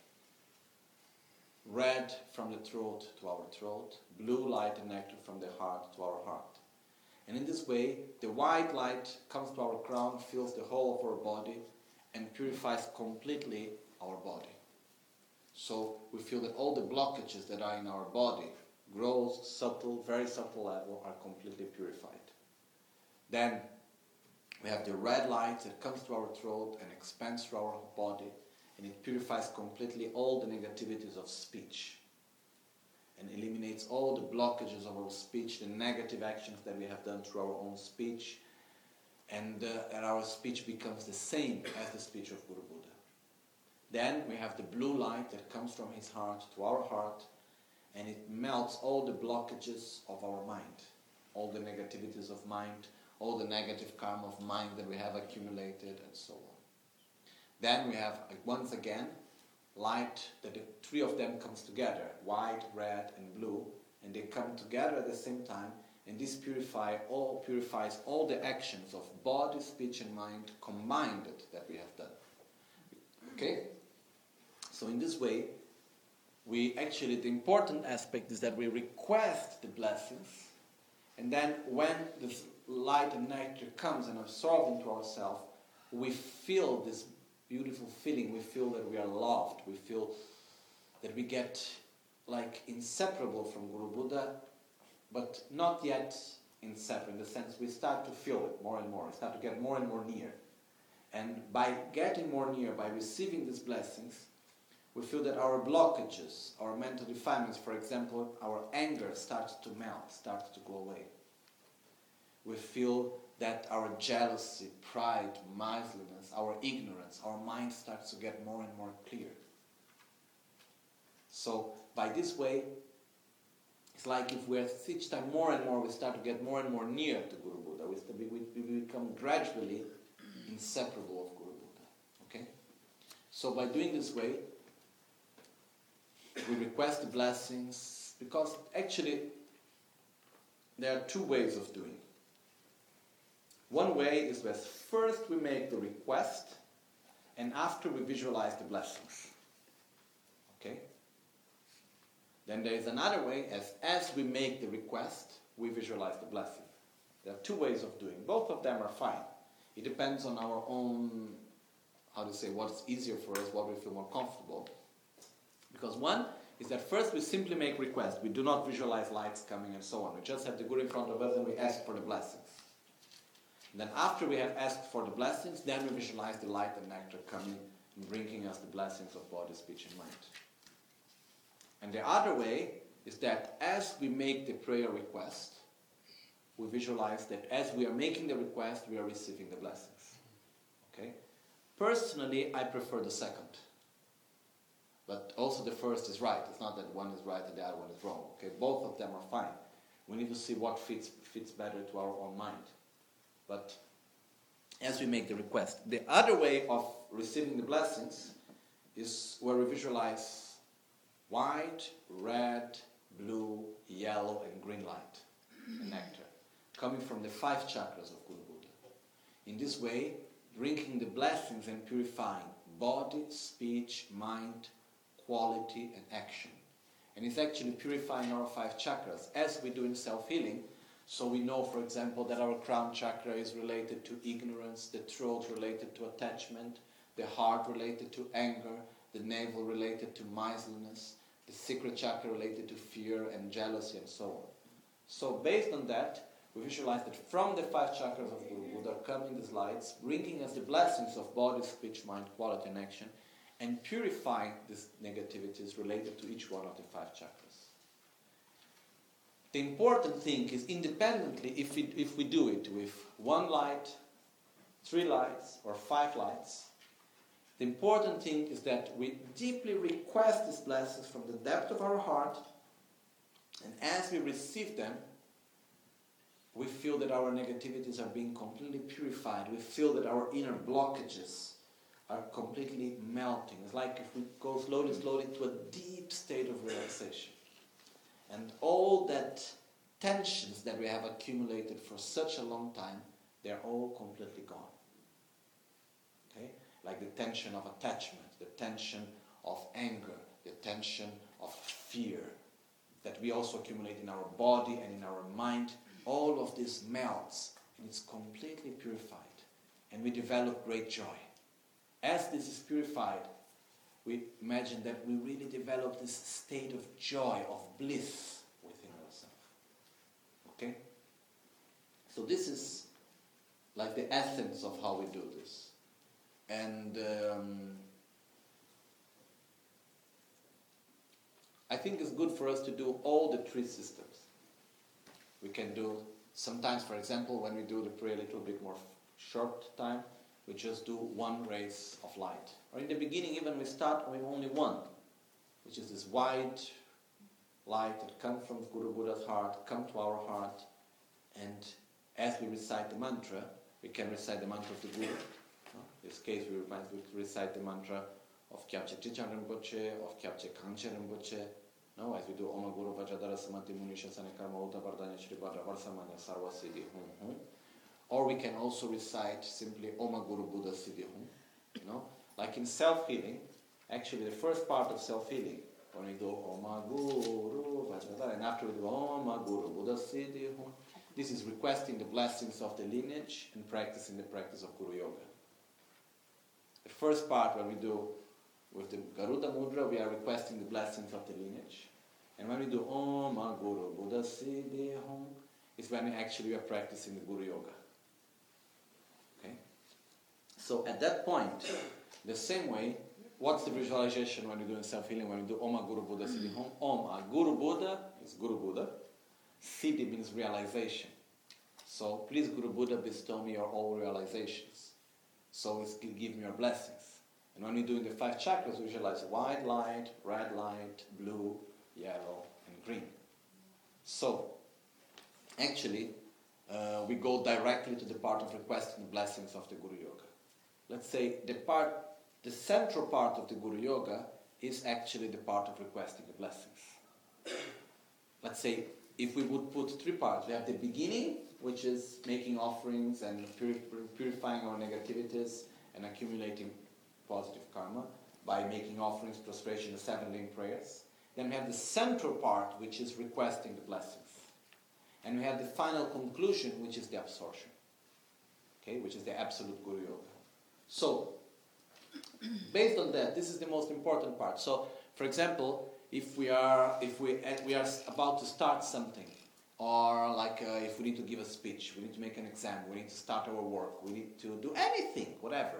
Red from the throat to our throat, blue light and nectar from the heart to our heart. And in this way, the white light comes to our crown, fills the whole of our body, and purifies completely our body. So we feel that all the blockages that are in our body, gross, subtle, very subtle level, are completely purified. Then we have the red light that comes to our throat and expands through our body, and it purifies completely all the negativities of speech and eliminates all the blockages of our speech, the negative actions that we have done through our own speech, and our speech becomes the same as the speech of Guru Buddha. Then we have the blue light that comes from his heart to our heart, and it melts all the blockages of our mind, all the negativities of mind, all the negative karma of mind that we have accumulated, and so on. Then we have, once again, light, that the 3 of them comes together, white, red, and blue, and they come together at the same time, and this purifies all the actions of body, speech, and mind combined that we have done. Okay? So in this way, the important aspect is that we request the blessings, and then when this light and nectar comes and absorbs into ourselves, we feel this beautiful feeling. We feel that we are loved. We feel that we get like inseparable from Guru Buddha, but not yet inseparable, in the sense we start to feel it more and more. We start to get more and more near. And by getting more near, by receiving these blessings, we feel that our blockages, our mental defilements, for example, our anger starts to melt, starts to go away. We feel that our jealousy, pride, miserliness, our ignorance, our mind starts to get more and more clear. So by this way, it's like if we're each time more and more, we start to get more and more near to Guru Buddha. We become gradually inseparable of Guru Buddha. Okay? So by doing this way, we request the blessings, because actually there are 2 ways of doing. One way is where first we make the request, and after we visualize the blessings. Okay? Then there is another way, as we make the request, we visualize the blessing. There are 2 ways of doing. Both of them are fine. It depends on our own, what's easier for us, what we feel more comfortable. Because one is that first we simply make requests. We do not visualize lights coming and so on. We just have the Guru in front of us and we ask for the blessings. And then after we have asked for the blessings, then we visualize the light and nectar coming and bringing us the blessings of body, speech, and mind. And the other way is that as we make the prayer request, we visualize that as we are making the request, we are receiving the blessings. Okay? Personally, I prefer the second. But also the first is right. It's not that one is right and the other one is wrong. Okay? Both of them are fine. We need to see what fits better to our own mind. But as we make the request, the other way of receiving the blessings is where we visualize white, red, blue, yellow, and green light and nectar coming from the 5 chakras of Guru Buddha. In this way, drinking the blessings and purifying body, speech, mind, quality, and action. And it's actually purifying our 5 chakras as we do in self-healing. So we know, for example, that our crown chakra is related to ignorance, the throat related to attachment, the heart related to anger, the navel related to miserliness, the secret chakra related to fear and jealousy and so on. So based on that, we visualize that from the 5 chakras of Guru Buddha come in these lights, bringing us the blessings of body, speech, mind, quality, and action, and purifying these negativities related to each one of the 5 chakras. The important thing is, independently, if we do it with 1 light, 3 lights, or 5 lights, the important thing is that we deeply request these blessings from the depth of our heart, and as we receive them, we feel that our negativities are being completely purified. We feel that our inner blockages are completely melting. It's like if we go slowly, slowly to a deep state of relaxation. And all that tensions that we have accumulated for such a long time, they're all completely gone. Okay? Like the tension of attachment, the tension of anger, the tension of fear that we also accumulate in our body and in our mind. All of this melts and it's completely purified. And we develop great joy. As this is purified, we imagine that we really develop this state of joy, of bliss within ourselves. Okay? So this is like the essence of how we do this. And I think it's good for us to do all the 3 systems. We can do, sometimes, for example, when we do the prayer a little bit more short time, we just do 1 rays of light. Or in the beginning, even we start with only 1, which is this white light that comes from Guru Buddha's heart, come to our heart, and as we recite the mantra, we can recite the mantra of the Guru. In this case, we recite the mantra of Kyabche Trichan Rinpoche, of Kyabche Kangche Rinpoche. No, as we do Om Guru Vajradhara Samadhi Munisha Sane Karma Uta Vardhanya Shri Bhadra Varsamanya Sarva Siddhi Hum Hum. Or we can also recite simply Om Guru Buddha Siddhi Hum. You know, like in self-healing, actually the first part of self-healing, when we do Om Guru Vajradhara, and after we do Om Guru Buddha Siddhi Hum, this is requesting the blessings of the lineage and practicing the practice of Guru Yoga. The first part, when we do with the Garuda Mudra, we are requesting the blessings of the lineage. And when we do Om Guru Buddha Siddhi Hum, is when we are practicing the Guru Yoga. Okay? So at that point, the same way, what's the visualization when you're doing self-healing? When we do Om Guru Buddha Siddhi Hum, Om Guru Buddha is Guru Buddha. Siddhi means realization. So please Guru Buddha bestow me your all realizations. So give me your blessings. And when we're doing the 5 chakras, we visualize white light, red light, blue, yellow, and green. So, actually, we go directly to the part of requesting the blessings of the Guru Yoga. Let's say the central part of the Guru Yoga is actually the part of requesting the blessings. Let's say, if we would put 3 parts, we have the beginning, which is making offerings and purifying our negativities and accumulating positive karma by making offerings, prostration, and 7 link prayers. Then we have the central part, which is requesting the blessings. And we have the final conclusion, which is the absorption. Okay, which is the absolute Guru Yoga. So, based on that, this is the most important part. So, for example, if we are about to start something, or if we need to give a speech, we need to make an exam, we need to start our work, we need to do anything, whatever,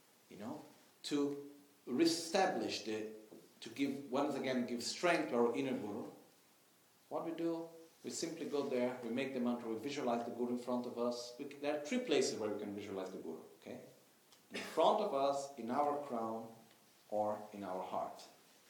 to reestablish to give strength to our inner Guru. What we do, we simply go there, we make the mantra, we visualize the Guru in front of us. There are 3 places where we can visualize the Guru, okay? In front of us, in our crown, or in our heart.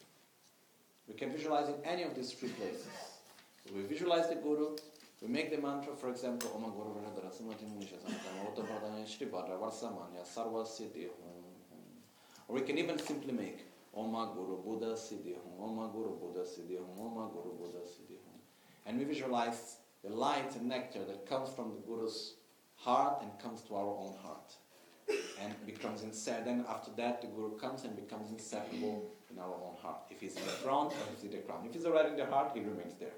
We can visualize in any of these 3 places. So we visualize the Guru, we make the mantra, for example, Om Guru Vajradhara Samadhi Munisha Sane Karma Uta Vardhanya Shri Bhadra Varsamanya Sarva Siddhi Hum Hum. Or we can even simply make Om Guru Buddha Siddhi Hum, Om Guru Buddha Siddhi Hum, Om Guru Buddha Siddhi Hum. And we visualize the light and nectar that comes from the Guru's heart and comes to our own heart. And becomes inseparable. Then after that, the Guru comes and becomes inseparable in our own heart. If he's in the front or if he's in the crown. If he's already in the heart, he remains there.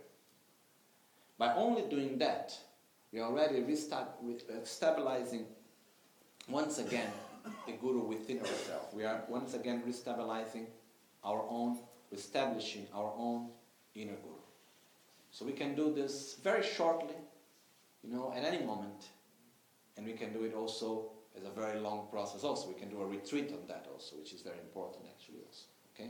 By only doing that, we are already stabilizing once again the Guru within ourselves. We are once again reestablishing our own inner Guru. So we can do this very shortly. at any moment. And we can do it also as a very long process also. We can do a retreat on that also, which is very important actually also. Okay?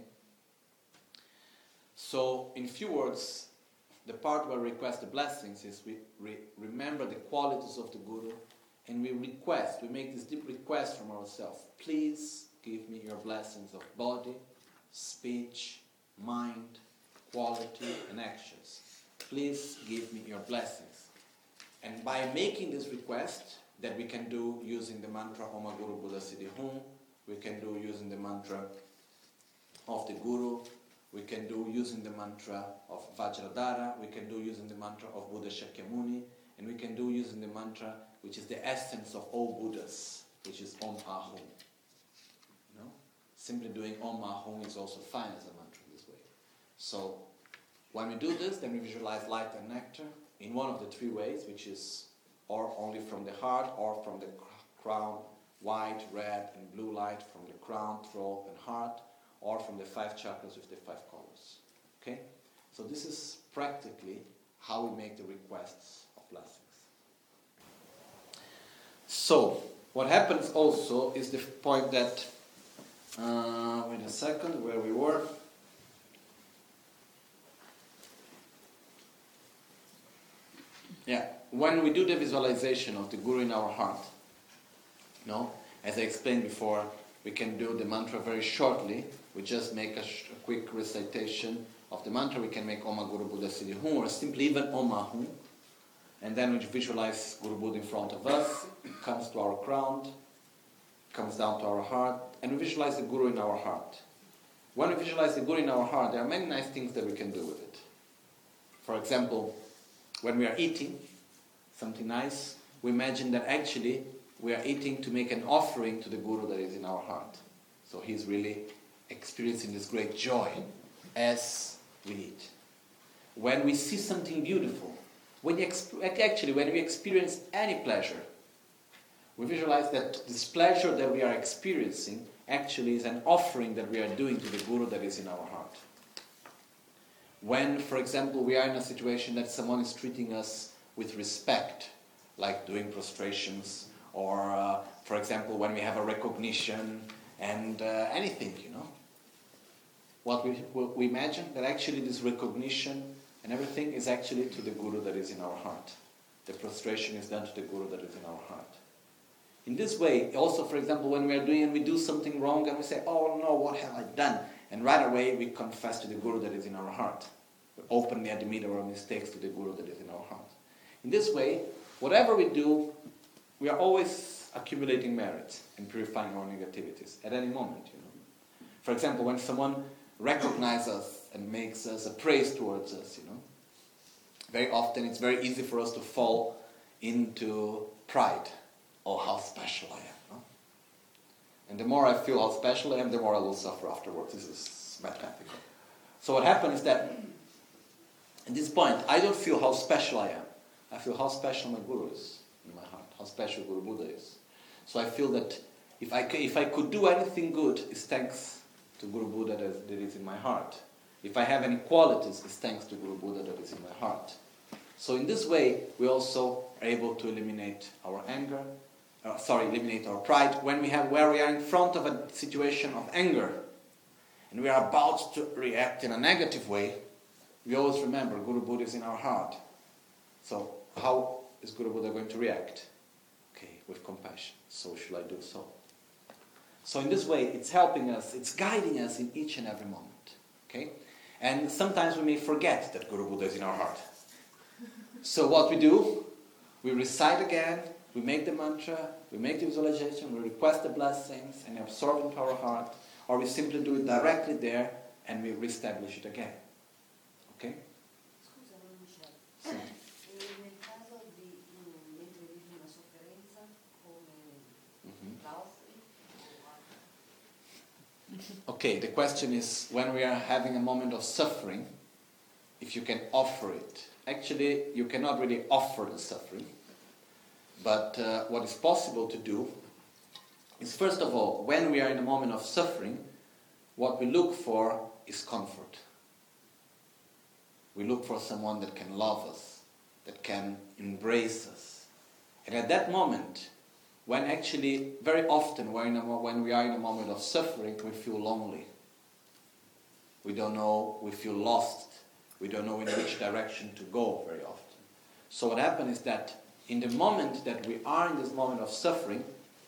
So, in few words, the part where we request the blessings is we remember the qualities of the Guru, and we make this deep request from ourselves. Please give me your blessings of body, speech, mind, quality, and actions. Please give me your blessings. And by making this request, that we can do using the mantra Om Guru Buddha Siddhi Hum, we can do using the mantra of the Guru, we can do using the mantra of Vajradhara, we can do using the mantra of Buddha Shakyamuni, and we can do using the mantra which is the essence of all Buddhas, which is Om Ahum. Simply doing Om Ahum is also fine as a mantra in this way. So, when we do this, then we visualize light and nectar in one of the three ways, which is or only from the heart, or from the crown, white, red, and blue light from the crown, throat, and heart, or from the 5 chakras with the 5 colors. Okay? So this is practically how we make the requests of blessings. So, what happens also is the point that, wait a second, where we were. Yeah, when we do the visualization of the Guru in our heart, as I explained before, we can do the mantra very shortly. We just make a quick recitation of the mantra. We can make Om Guru Buddha Siddhi Hum, or simply even Om Ahum. And then we visualize Guru Buddha in front of us, comes to our crown, comes down to our heart, and we visualize the Guru in our heart. When we visualize the Guru in our heart, there are many nice things that we can do with it. For example, when we are eating something nice, we imagine that actually we are eating to make an offering to the Guru that is in our heart. So he's really experiencing this great joy as we eat. When we see something beautiful, when we experience any pleasure, we visualize that this pleasure that we are experiencing actually is an offering that we are doing to the Guru that is in our heart. When, for example, we are in a situation that someone is treating us with respect, like doing prostrations, or, for example, when we have a recognition, and anything, what we imagine that actually this recognition and everything is actually to the Guru that is in our heart. The prostration is done to the Guru that is in our heart. In this way, also, for example, when we do something wrong and we say, oh no, what have I done? And right away we confess to the Guru that is in our heart. We openly admit our mistakes to the Guru that is in our heart. In this way, whatever we do, we are always accumulating merit and purifying our negativities at any moment. For example, when someone recognizes us and makes us a praise towards us, very often it's very easy for us to fall into pride. Oh, how special I am. No? And the more I feel how special I am, the more I will suffer afterwards. This is mathematical. So what happens is that at this point, I don't feel how special I am. I feel how special my Guru is in my heart, how special Guru Buddha is. So I feel that if I could do anything good, it's thanks to Guru Buddha that is in my heart. If I have any qualities, it's thanks to Guru Buddha that is in my heart. So in this way, we also are able to eliminate our anger, eliminate our pride. Where we are in front of a situation of anger, and we are about to react in a negative way, we always remember Guru Buddha is in our heart. So how is Guru Buddha going to react? Okay, with compassion. So should I do so? So in this way, it's helping us, it's guiding us in each and every moment. Okay? And sometimes we may forget that Guru Buddha is in our heart. So what we do, we recite again, we make the mantra, we make the visualization, we request the blessings and absorb into our heart, or we simply do it directly there and we reestablish it again. Ok? Scusa, non c'è. Sì. Nel caso di mentre vivi una sofferenza, come la offri? Okay, the question is, when we are having a moment of suffering, if you can offer it. Actually, you cannot really offer the suffering, but what is possible to do is, first of all, when we are in a moment of suffering, what we look for is comfort. We look for someone that can love us, that can embrace us. And at that moment, when actually, very often when we are in a moment of suffering, we feel lonely. We don't know, we feel lost. We don't know in which direction to go very often. So what happens is that in the moment that we are in this moment of suffering,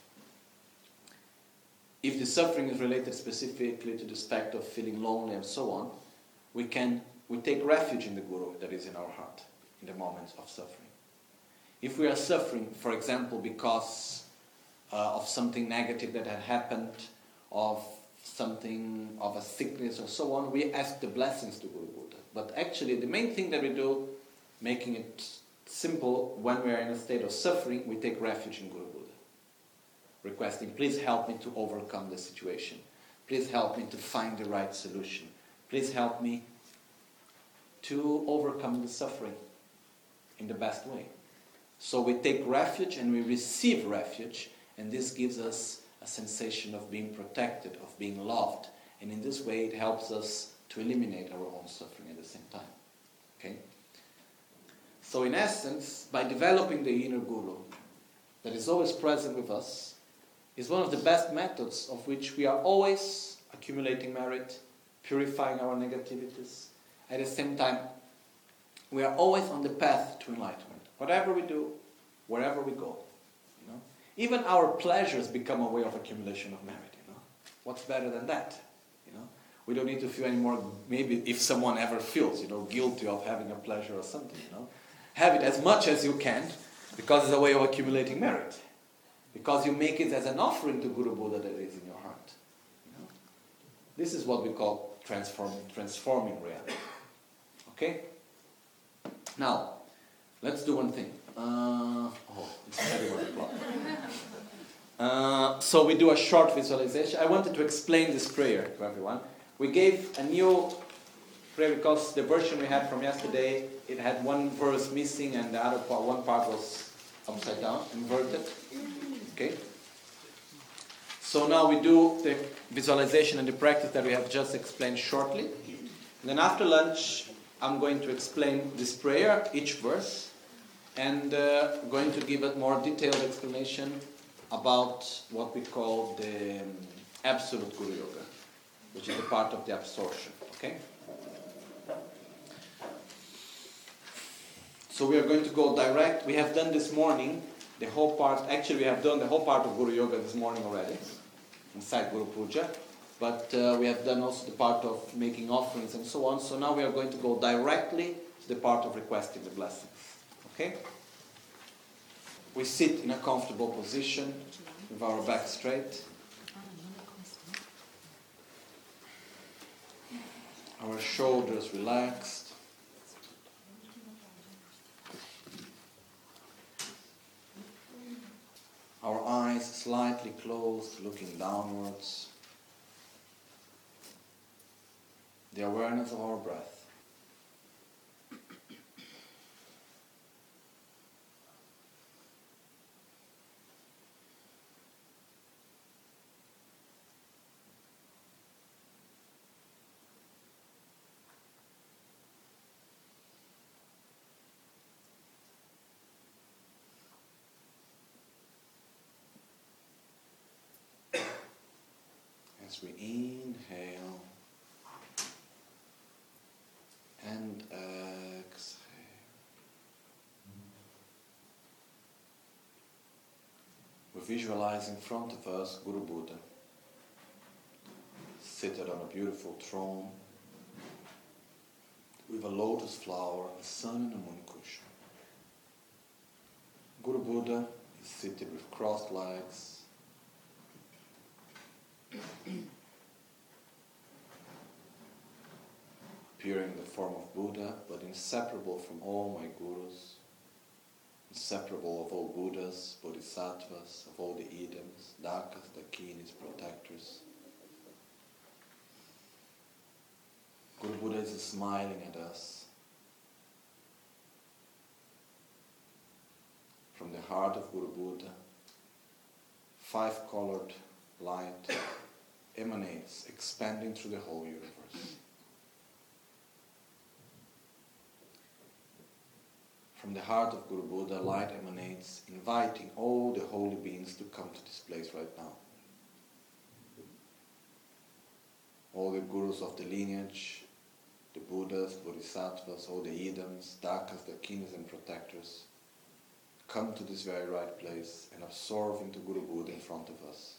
if the suffering is related specifically to the aspect of feeling lonely and so on, we take refuge in the Guru that is in our heart in the moments of suffering. If we are suffering, for example, because of something negative that had happened, of something of a sickness or so on, we ask the blessings to Guru Buddha. But actually the main thing that we do, making it simple, when we are in a state of suffering, we take refuge in Guru Buddha, requesting, please help me to overcome the situation. Please help me to find the right solution. Please help me to overcome the suffering in the best way. So we take refuge and we receive refuge, and this gives us a sensation of being protected, of being loved, and in this way it helps us to eliminate our own suffering at the same time. Okay? So in essence, by developing the inner Guru that is always present with us, is one of the best methods of which we are always accumulating merit, purifying our negativities. At the same time, we are always on the path to enlightenment. Whatever we do, wherever we go. You know? Even our pleasures become a way of accumulation of merit. You know? What's better than that? You know? We don't need to feel anymore, maybe if someone ever feels, guilty of having a pleasure or something, Have it as much as you can, because it's a way of accumulating merit. Because you make it as an offering to Guru Buddha that is in your heart. This is what we call transforming reality. Okay? Now, let's do one thing. It's 31 o'clock. So we do a short visualization. I wanted to explain this prayer to everyone. We gave a new prayer because the version we had from yesterday, it had one verse missing and the other part, one part was upside down, inverted. Okay? So now we do the visualization and the practice that we have just explained shortly. And then after lunch, I'm going to explain this prayer, each verse, and going to give a more detailed explanation about what we call the Absolute Guru Yoga, which is a part of the absorption. Okay? So we are going to go direct. We have done this morning the whole part. Actually, we have done the whole part of Guru Yoga this morning already, inside Guru Puja. But we have done also the part of making offerings and so on. So now we are going to go directly to the part of requesting the blessings. Okay? We sit in a comfortable position with our back straight. Our shoulders relaxed. Our eyes slightly closed, looking downwards. The awareness of our breath. As we inhale and exhale, we visualize in front of us Guru Buddha, seated on a beautiful throne with a lotus flower, a sun and a moon cushion. Guru Buddha is seated with crossed legs, appearing in the form of Buddha, but inseparable from all my gurus, inseparable of all Buddhas, Bodhisattvas, of all the Idams, Dakas, Dakinis, protectors. Guru Buddha is smiling at us. From the heart of Guru Buddha, 5-colored light emanates, expanding through the whole universe. From the heart of Guru Buddha, light emanates, inviting all the holy beings to come to this place right now. All the Gurus of the lineage, the Buddhas, Bodhisattvas, all the Idams, Dakas, the kings and protectors, come to this very right place and absorb into Guru Buddha in front of us.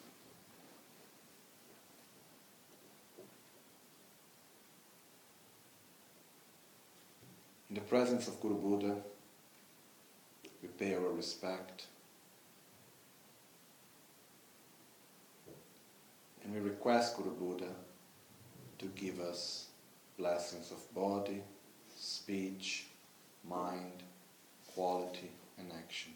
In the presence of Guru Buddha, we pay our respect and we request Guru Buddha to give us blessings of body, speech, mind, quality and action.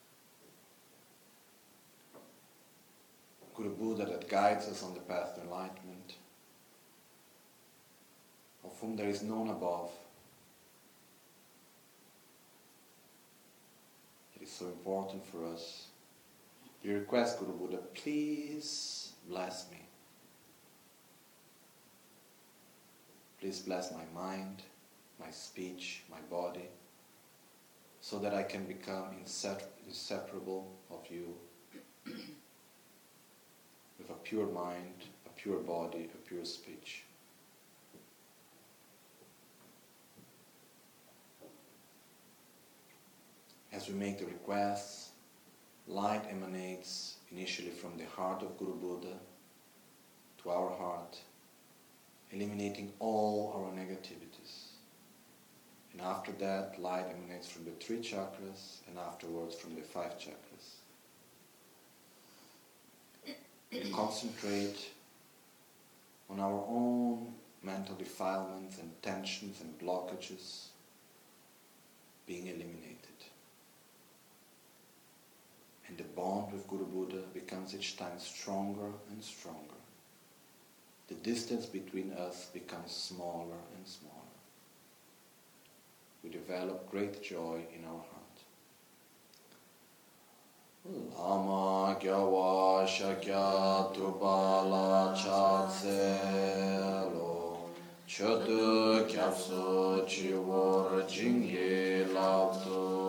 Guru Buddha that guides us on the path to enlightenment, of whom there is none above. It is so important for us. We request Guru Buddha, please bless me. Please bless my mind, my speech, my body, so that I can become inseparable of you, with a pure mind, a pure body, a pure speech. As we make the requests, light emanates initially from the heart of Guru Buddha to our heart, eliminating all our negativities. And after that, light emanates from the 3 chakras and afterwards from the 5 chakras. We concentrate on our own mental defilements and tensions and blockages being eliminated. And the bond with Guru Buddha becomes each time stronger and stronger. The distance between us becomes smaller and smaller. We develop great joy in our heart. Lama gyawa shakya tubala chatselo chodu kyapso chivor jingi lavto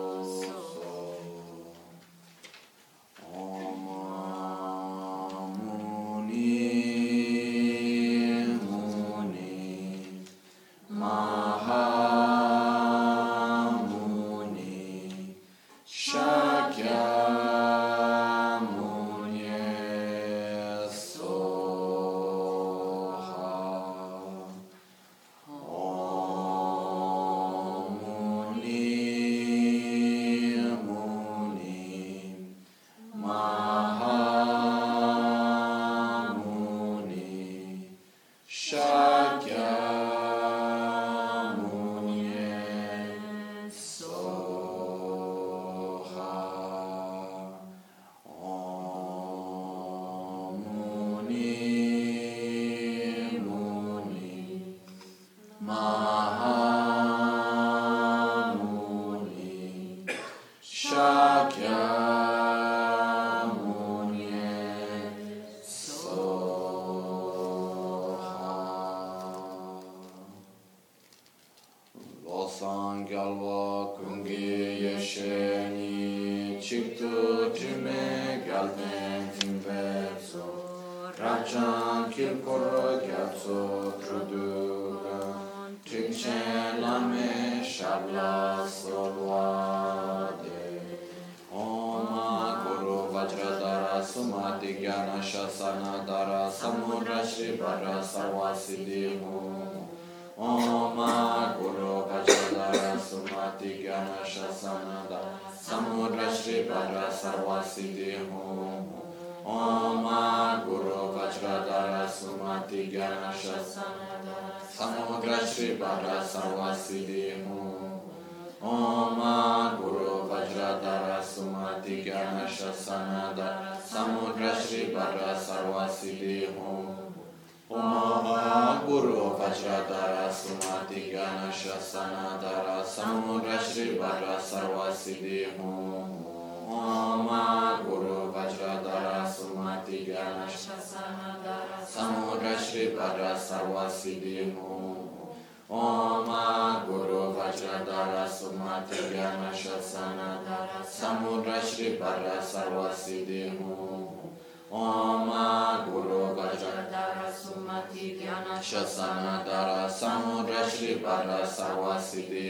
Om Guru Vajradhara Sumati Gyana Shasana Samudra Shri Bara Sarva Siddhi Om Guru Vajradhara Sumati Gyana Shasana Dara Samudra Shri Bara Sarva Siddhi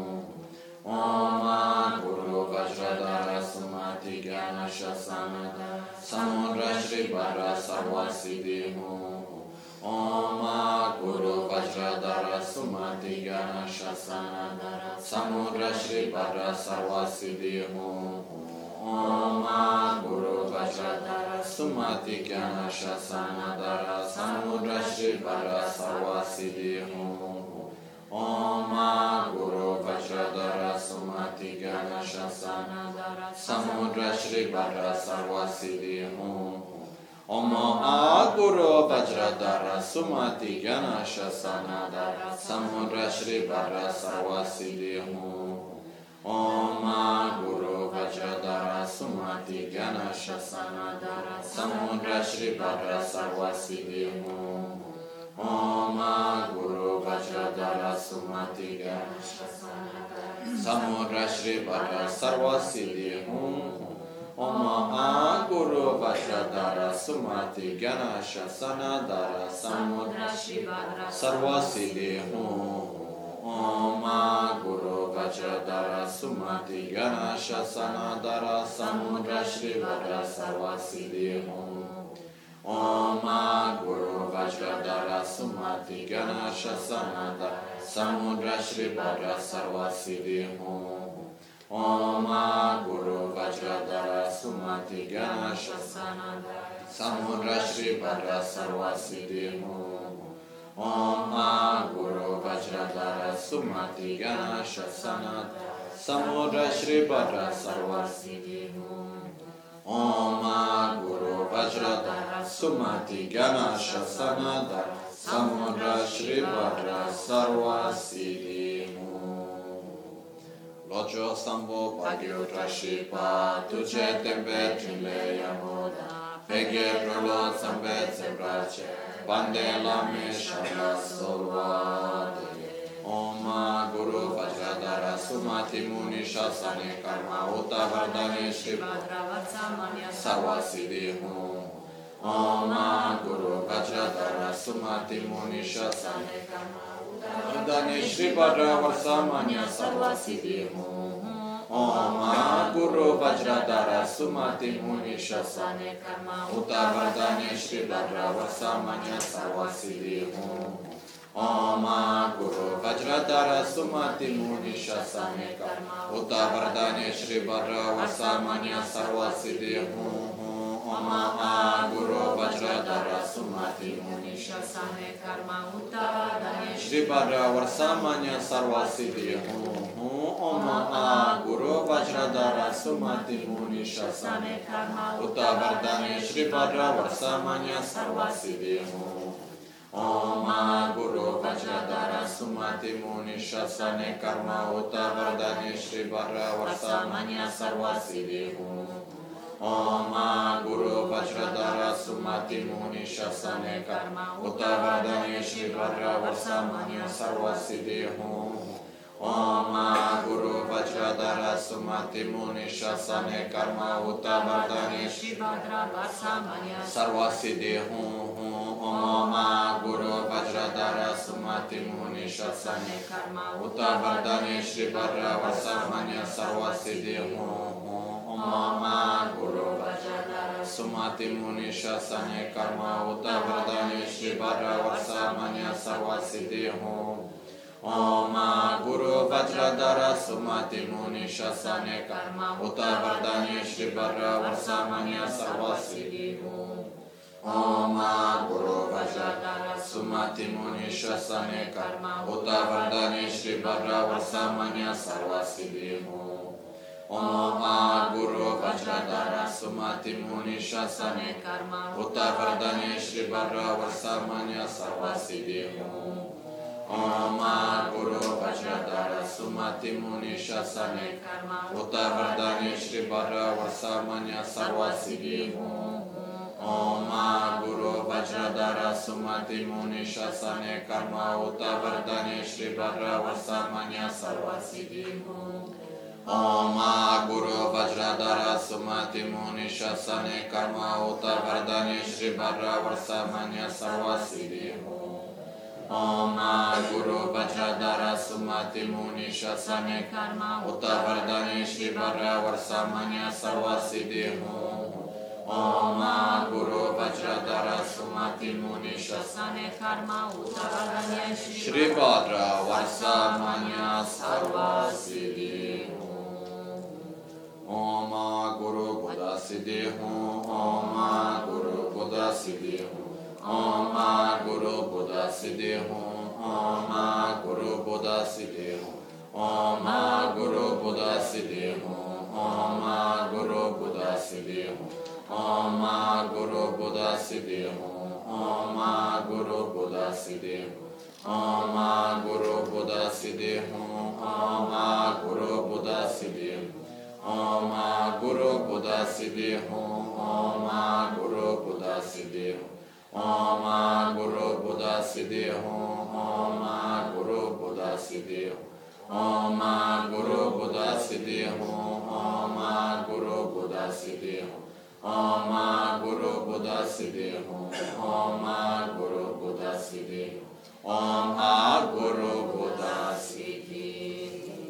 Om Guru Vajradhara Sumati Gyana Shasana Dara Samudra Shri Bara Sarva Siddhi Om Guru Vajradhara Sumati Gyana Shasana Dara Samudra Shri Bara Sarva Siddhi Om Guru Vajradhara Sumati Gyana Shasana Dara Samudra Shri Bara Sarva Siddhi Om Guru Vajradhara Sumati Gyana Shasana Dara Samudra Shri Bara Sarva Siddhi Om Guru Vajradhara Sumati Gyana Shasana Dara Samudra Shri Bara Sarva Siddhi Om Guru Vajradhara Sumati Gyana Shasana Dara Samudra Shri Bara Sarva Siddhi Om Guru Vajradhara Sumati Gyana Shasana Dara Samudra Shri Bara Sarva Siddhi Om Guru Vajradhara Sumati Gyana Shasana Dara Samudra Shri Bara Sarva Siddhi Om Guru Vajradhara Sumati Gyana Shasana Dara Samudra Shri Bara Sarva Siddhi Om Guru Vajradhara Sumati Gyana Shasana Dara Samudra Shri Bara Sarva Siddhi Om Guru Vajradhara Sumati Gyana Shasana Dara Samudra Shri Bara Sarva Siddhi Om Guru Vajradhara Sumati Gyana Shasana Dara Samudra Shri Bara Sarva Siddhi Om Guru Vajradhara Sumati Gyana Shasana Dara Samudra Shri Bara Sarva Siddhi Lojo Sambo Pagyo Trashipa Tuce Tembe Trile Yamoda Peghe Prolo Zambe Zembrace Bande Lame Shabla Solvade Om Guru Vajradhara Sumati Muni Shasane Karma Uta Vardhane Shri Sarva Siddhi Om Guru Vajradhara Sumati Muni Shasane Karma Vardhane Shri Bhadra Varsamanya Sarva Siddhi Om Guru Vajradhara Sumati Muni Shasane Karma Uta Vardhane Shri Bhadra Varsamanya Sarva Siddhi Om Guru Vajradhara Sumati Muni Shasane Karma Uta Vardhane Shri Bhadra Varsamanya Sarva Siddhi Om Guru Vajradhara Sumati Muni Shasane Karma Uta Vardhane Shri Bhadra Varsamanya Sarva Siddhi Om Guru Vajradhara Sumati Muni Shasane Karma Uta Vardhane Shri Bhadra Varsamanya Sarva Siddhi Om Guru Vajradhara Sumati Muni Shasane Karma Uta Vardhane Shri Bhadra Varsamanya Sarva Siddhi Om Guru Vajradhara Sumati Muni Shasane Karma Uta Vardhane Shri Bhadra Varsamanya Sarva Siddhi Om Guru Vajradhara Sumati Muni Shasane Karma Uta Vardhane Shri Bhadra Varsamanya Sarva Siddhi Om Guru Vajradhara Sumati Muni Shasane Karma Uta Vardhane Shri Bhadra Varsamanya Sarva Siddhi Om Guru Vajradhara Sumati Muni Shasane Karma Uta Vardhane Shri Bhadra Varsamanya Sarva Siddhi Om Guru Vajradhara Sumati Muni Shasane Karma Uta Vardhane Shri Bhadra Varsamanya Sarva Siddhi Om Guru Vajradhara Sumati Muni Shasane Karma Uta Vardhane Shri Bhadra Varsamanya Sarva Siddhi Om Guru Vajradhara Sumati Muni Shasane Karma Uta Vardhane Shri Bhadra Varsamanya Sarva Siddhi Om Guru Vajradhara Sumati Muni Shasane Karma Uta Vardhane Shri Bhadra Varsamanya Sarva Siddhi Om Guru Vajradhara Sumati Muni Shasane Karma Uta Vardhane Shri Bhadra Varsamanya Sarva Siddhi Om Guru Vajradhara Sumati Muni Shasane Karma Uta Vardhane Shri Bhadra Varsamanya Sarva Siddhi Om Guru Vajradhara Sumati Muni Shasane Karma Uta Vardhane Shri Bhadra Varsamanya Sarva Siddhi Om Guru Vajradhara Sumati Muni Shasane Karma Uta Vardhane Shri Bhadra Varsamanya Sarva Siddhi Om Guru Buddha Siddhi Om Guru Buddha Siddhi Om Guru Buddha Siddhi Om Guru Buddha Siddhi Om Guru Buddha Siddhi Om Guru Buddha Siddhi Om Guru Buddha Siddhi Om Guru Buddha Siddhi Om Guru Buddha Siddhi Om Guru Buddha Siddhi Om Guru Buddha Siddhi Om Guru Buddha Siddhi Om Guru Buddha Siddhi Om Guru Buddha Siddhi Om Guru Buddha Siddhi Om Guru Buddha Siddhi Om Guru Buddha Siddhi Om Guru Buddha Siddhi Om Guru Buddha Siddhi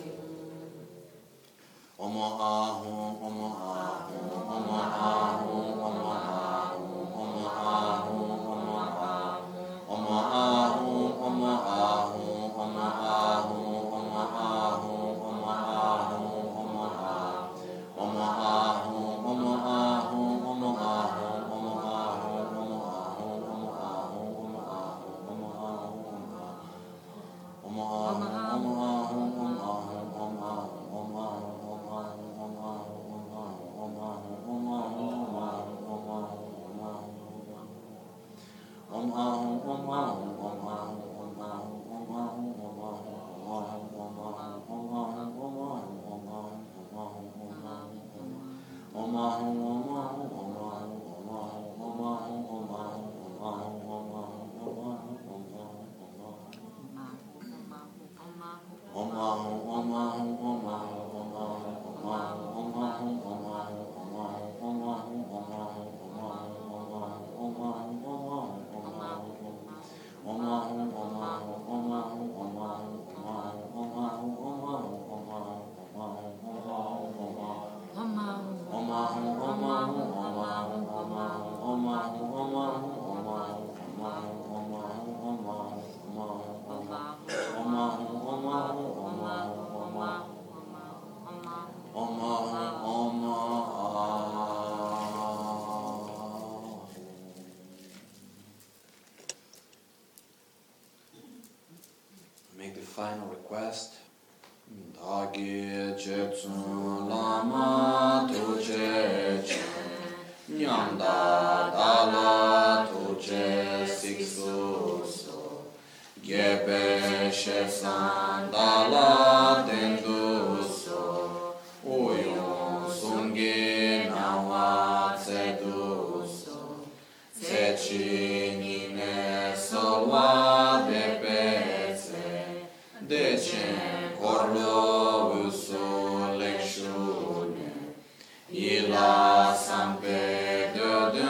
Om Ahum Om Ahum Om Ahum Om Ahum Om Ahum Om Ahum Om Ahum Om Ahum Om Ahum Om Ahum Om Ahum Om Ahum Om Ahum Om Make the final request. Dagi Jetsun Lama Tuje Chen Nyamda Dala Tuje Siksu So Gepe Shesan Dala Tendu So Uyun Sungi Nawa Tsedu So Tsechi Nine Solwa Bepeze Dechen Corlo Uso Lekshune Ila Sampe de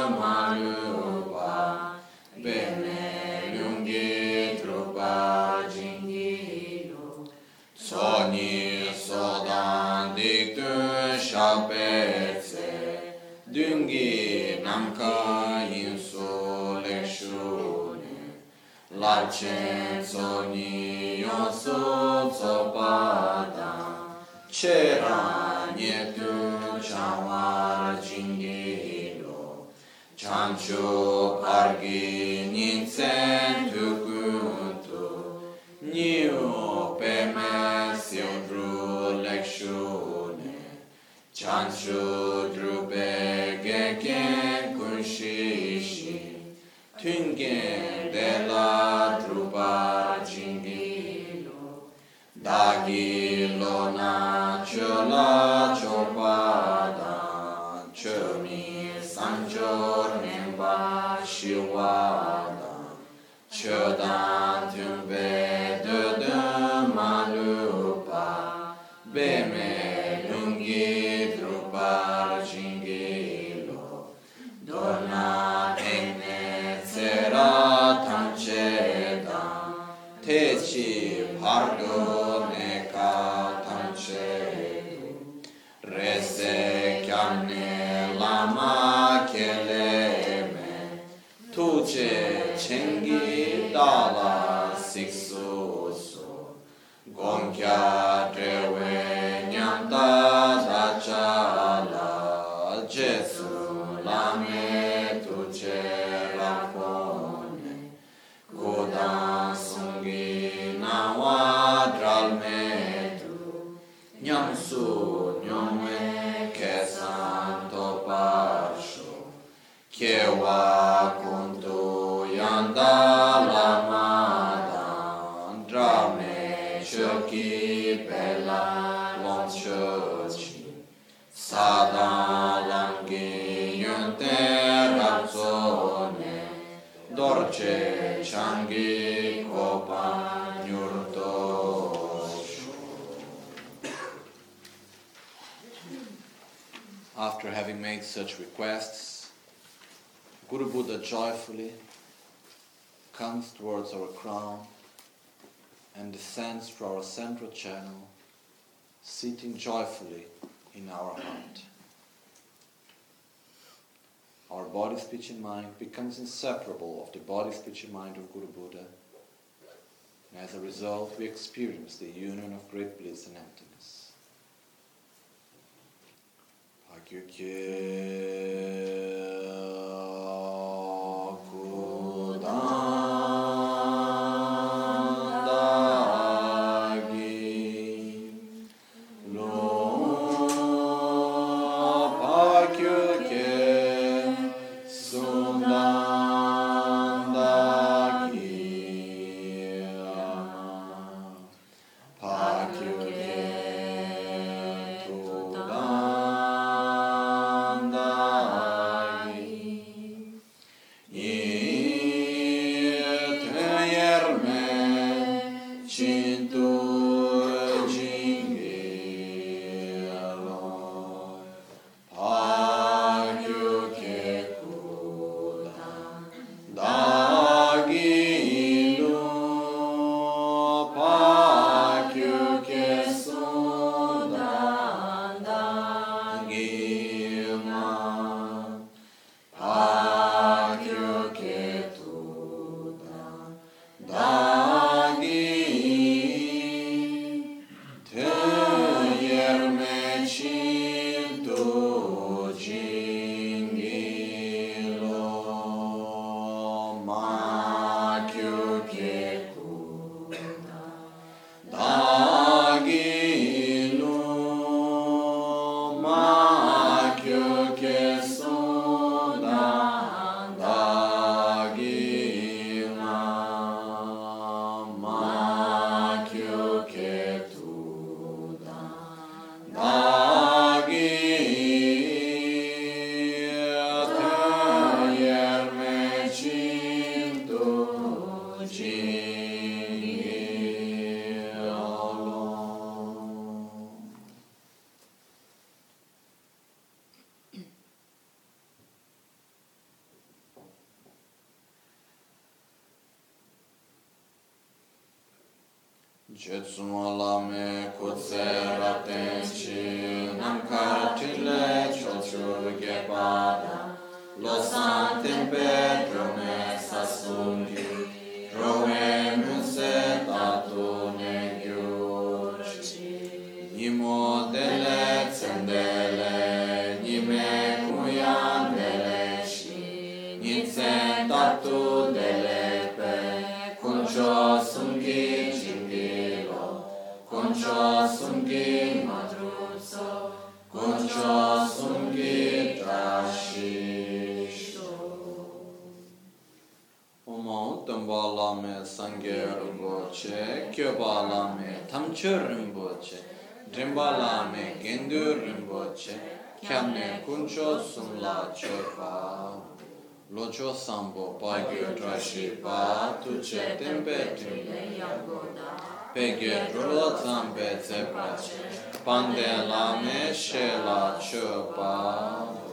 Malupa Bene Lungi Trupa Jingilo Soni Sodan Dictu Shapetse Dungi Namka Inso Lekshune Larcen Soni Yosu Zopada C'era Nietu Chawar Jingilo Chancho Pargi Ninsen Tukuntu Niu Peme Siodru Lekshune Chancho Drube Geken Kunshishi Tungen Della Drupa Jingilo Dagilo Na Chola Chopada Chomi Sanjor Nemba Shiwada Chodan tumbe de malupa beme lungi drupar jingilo dona ene sera tancheda techi pardo neka tanchedu rese kyamne lama keleme tuche chengi dala siksusu gonkya drewe nyamta dachala jesu lame tuche rakone kodan sungi nawa dralmetu nyamsu nyome kesanto pasho kewa kuntu yanda lamadan drame choki bella lom chochi sada langi yunte razzone dorce changi copa nyurto. After having made such requests, Guru Buddha joyfully comes towards our crown and descends through our central channel, sitting joyfully in our heart. Our body, speech and mind becomes inseparable of the body, speech and mind of Guru Buddha, and as a result we experience the union of great bliss and emptiness. Jetsumolame kutsera tenchi namkartile chochur gepada losantem pedro me sasungi rove muse tatu negiurci nimo dele tsendele nime kuyandele shi nitsen tatu dele pe kuncho sungi Concho sungi madruzzo, concho sungi trashisho. Omo tambala me sangye rinpoche, kyobala me tamche rinpoche, drimbala me gendu rinpoche, kyamne kuncho sumla chopa. Lojo Sambo Pagyo Trashi Pa Tuche Tempe Pegye Rulo Zambe Zeprache Pande Lame Shela Chopa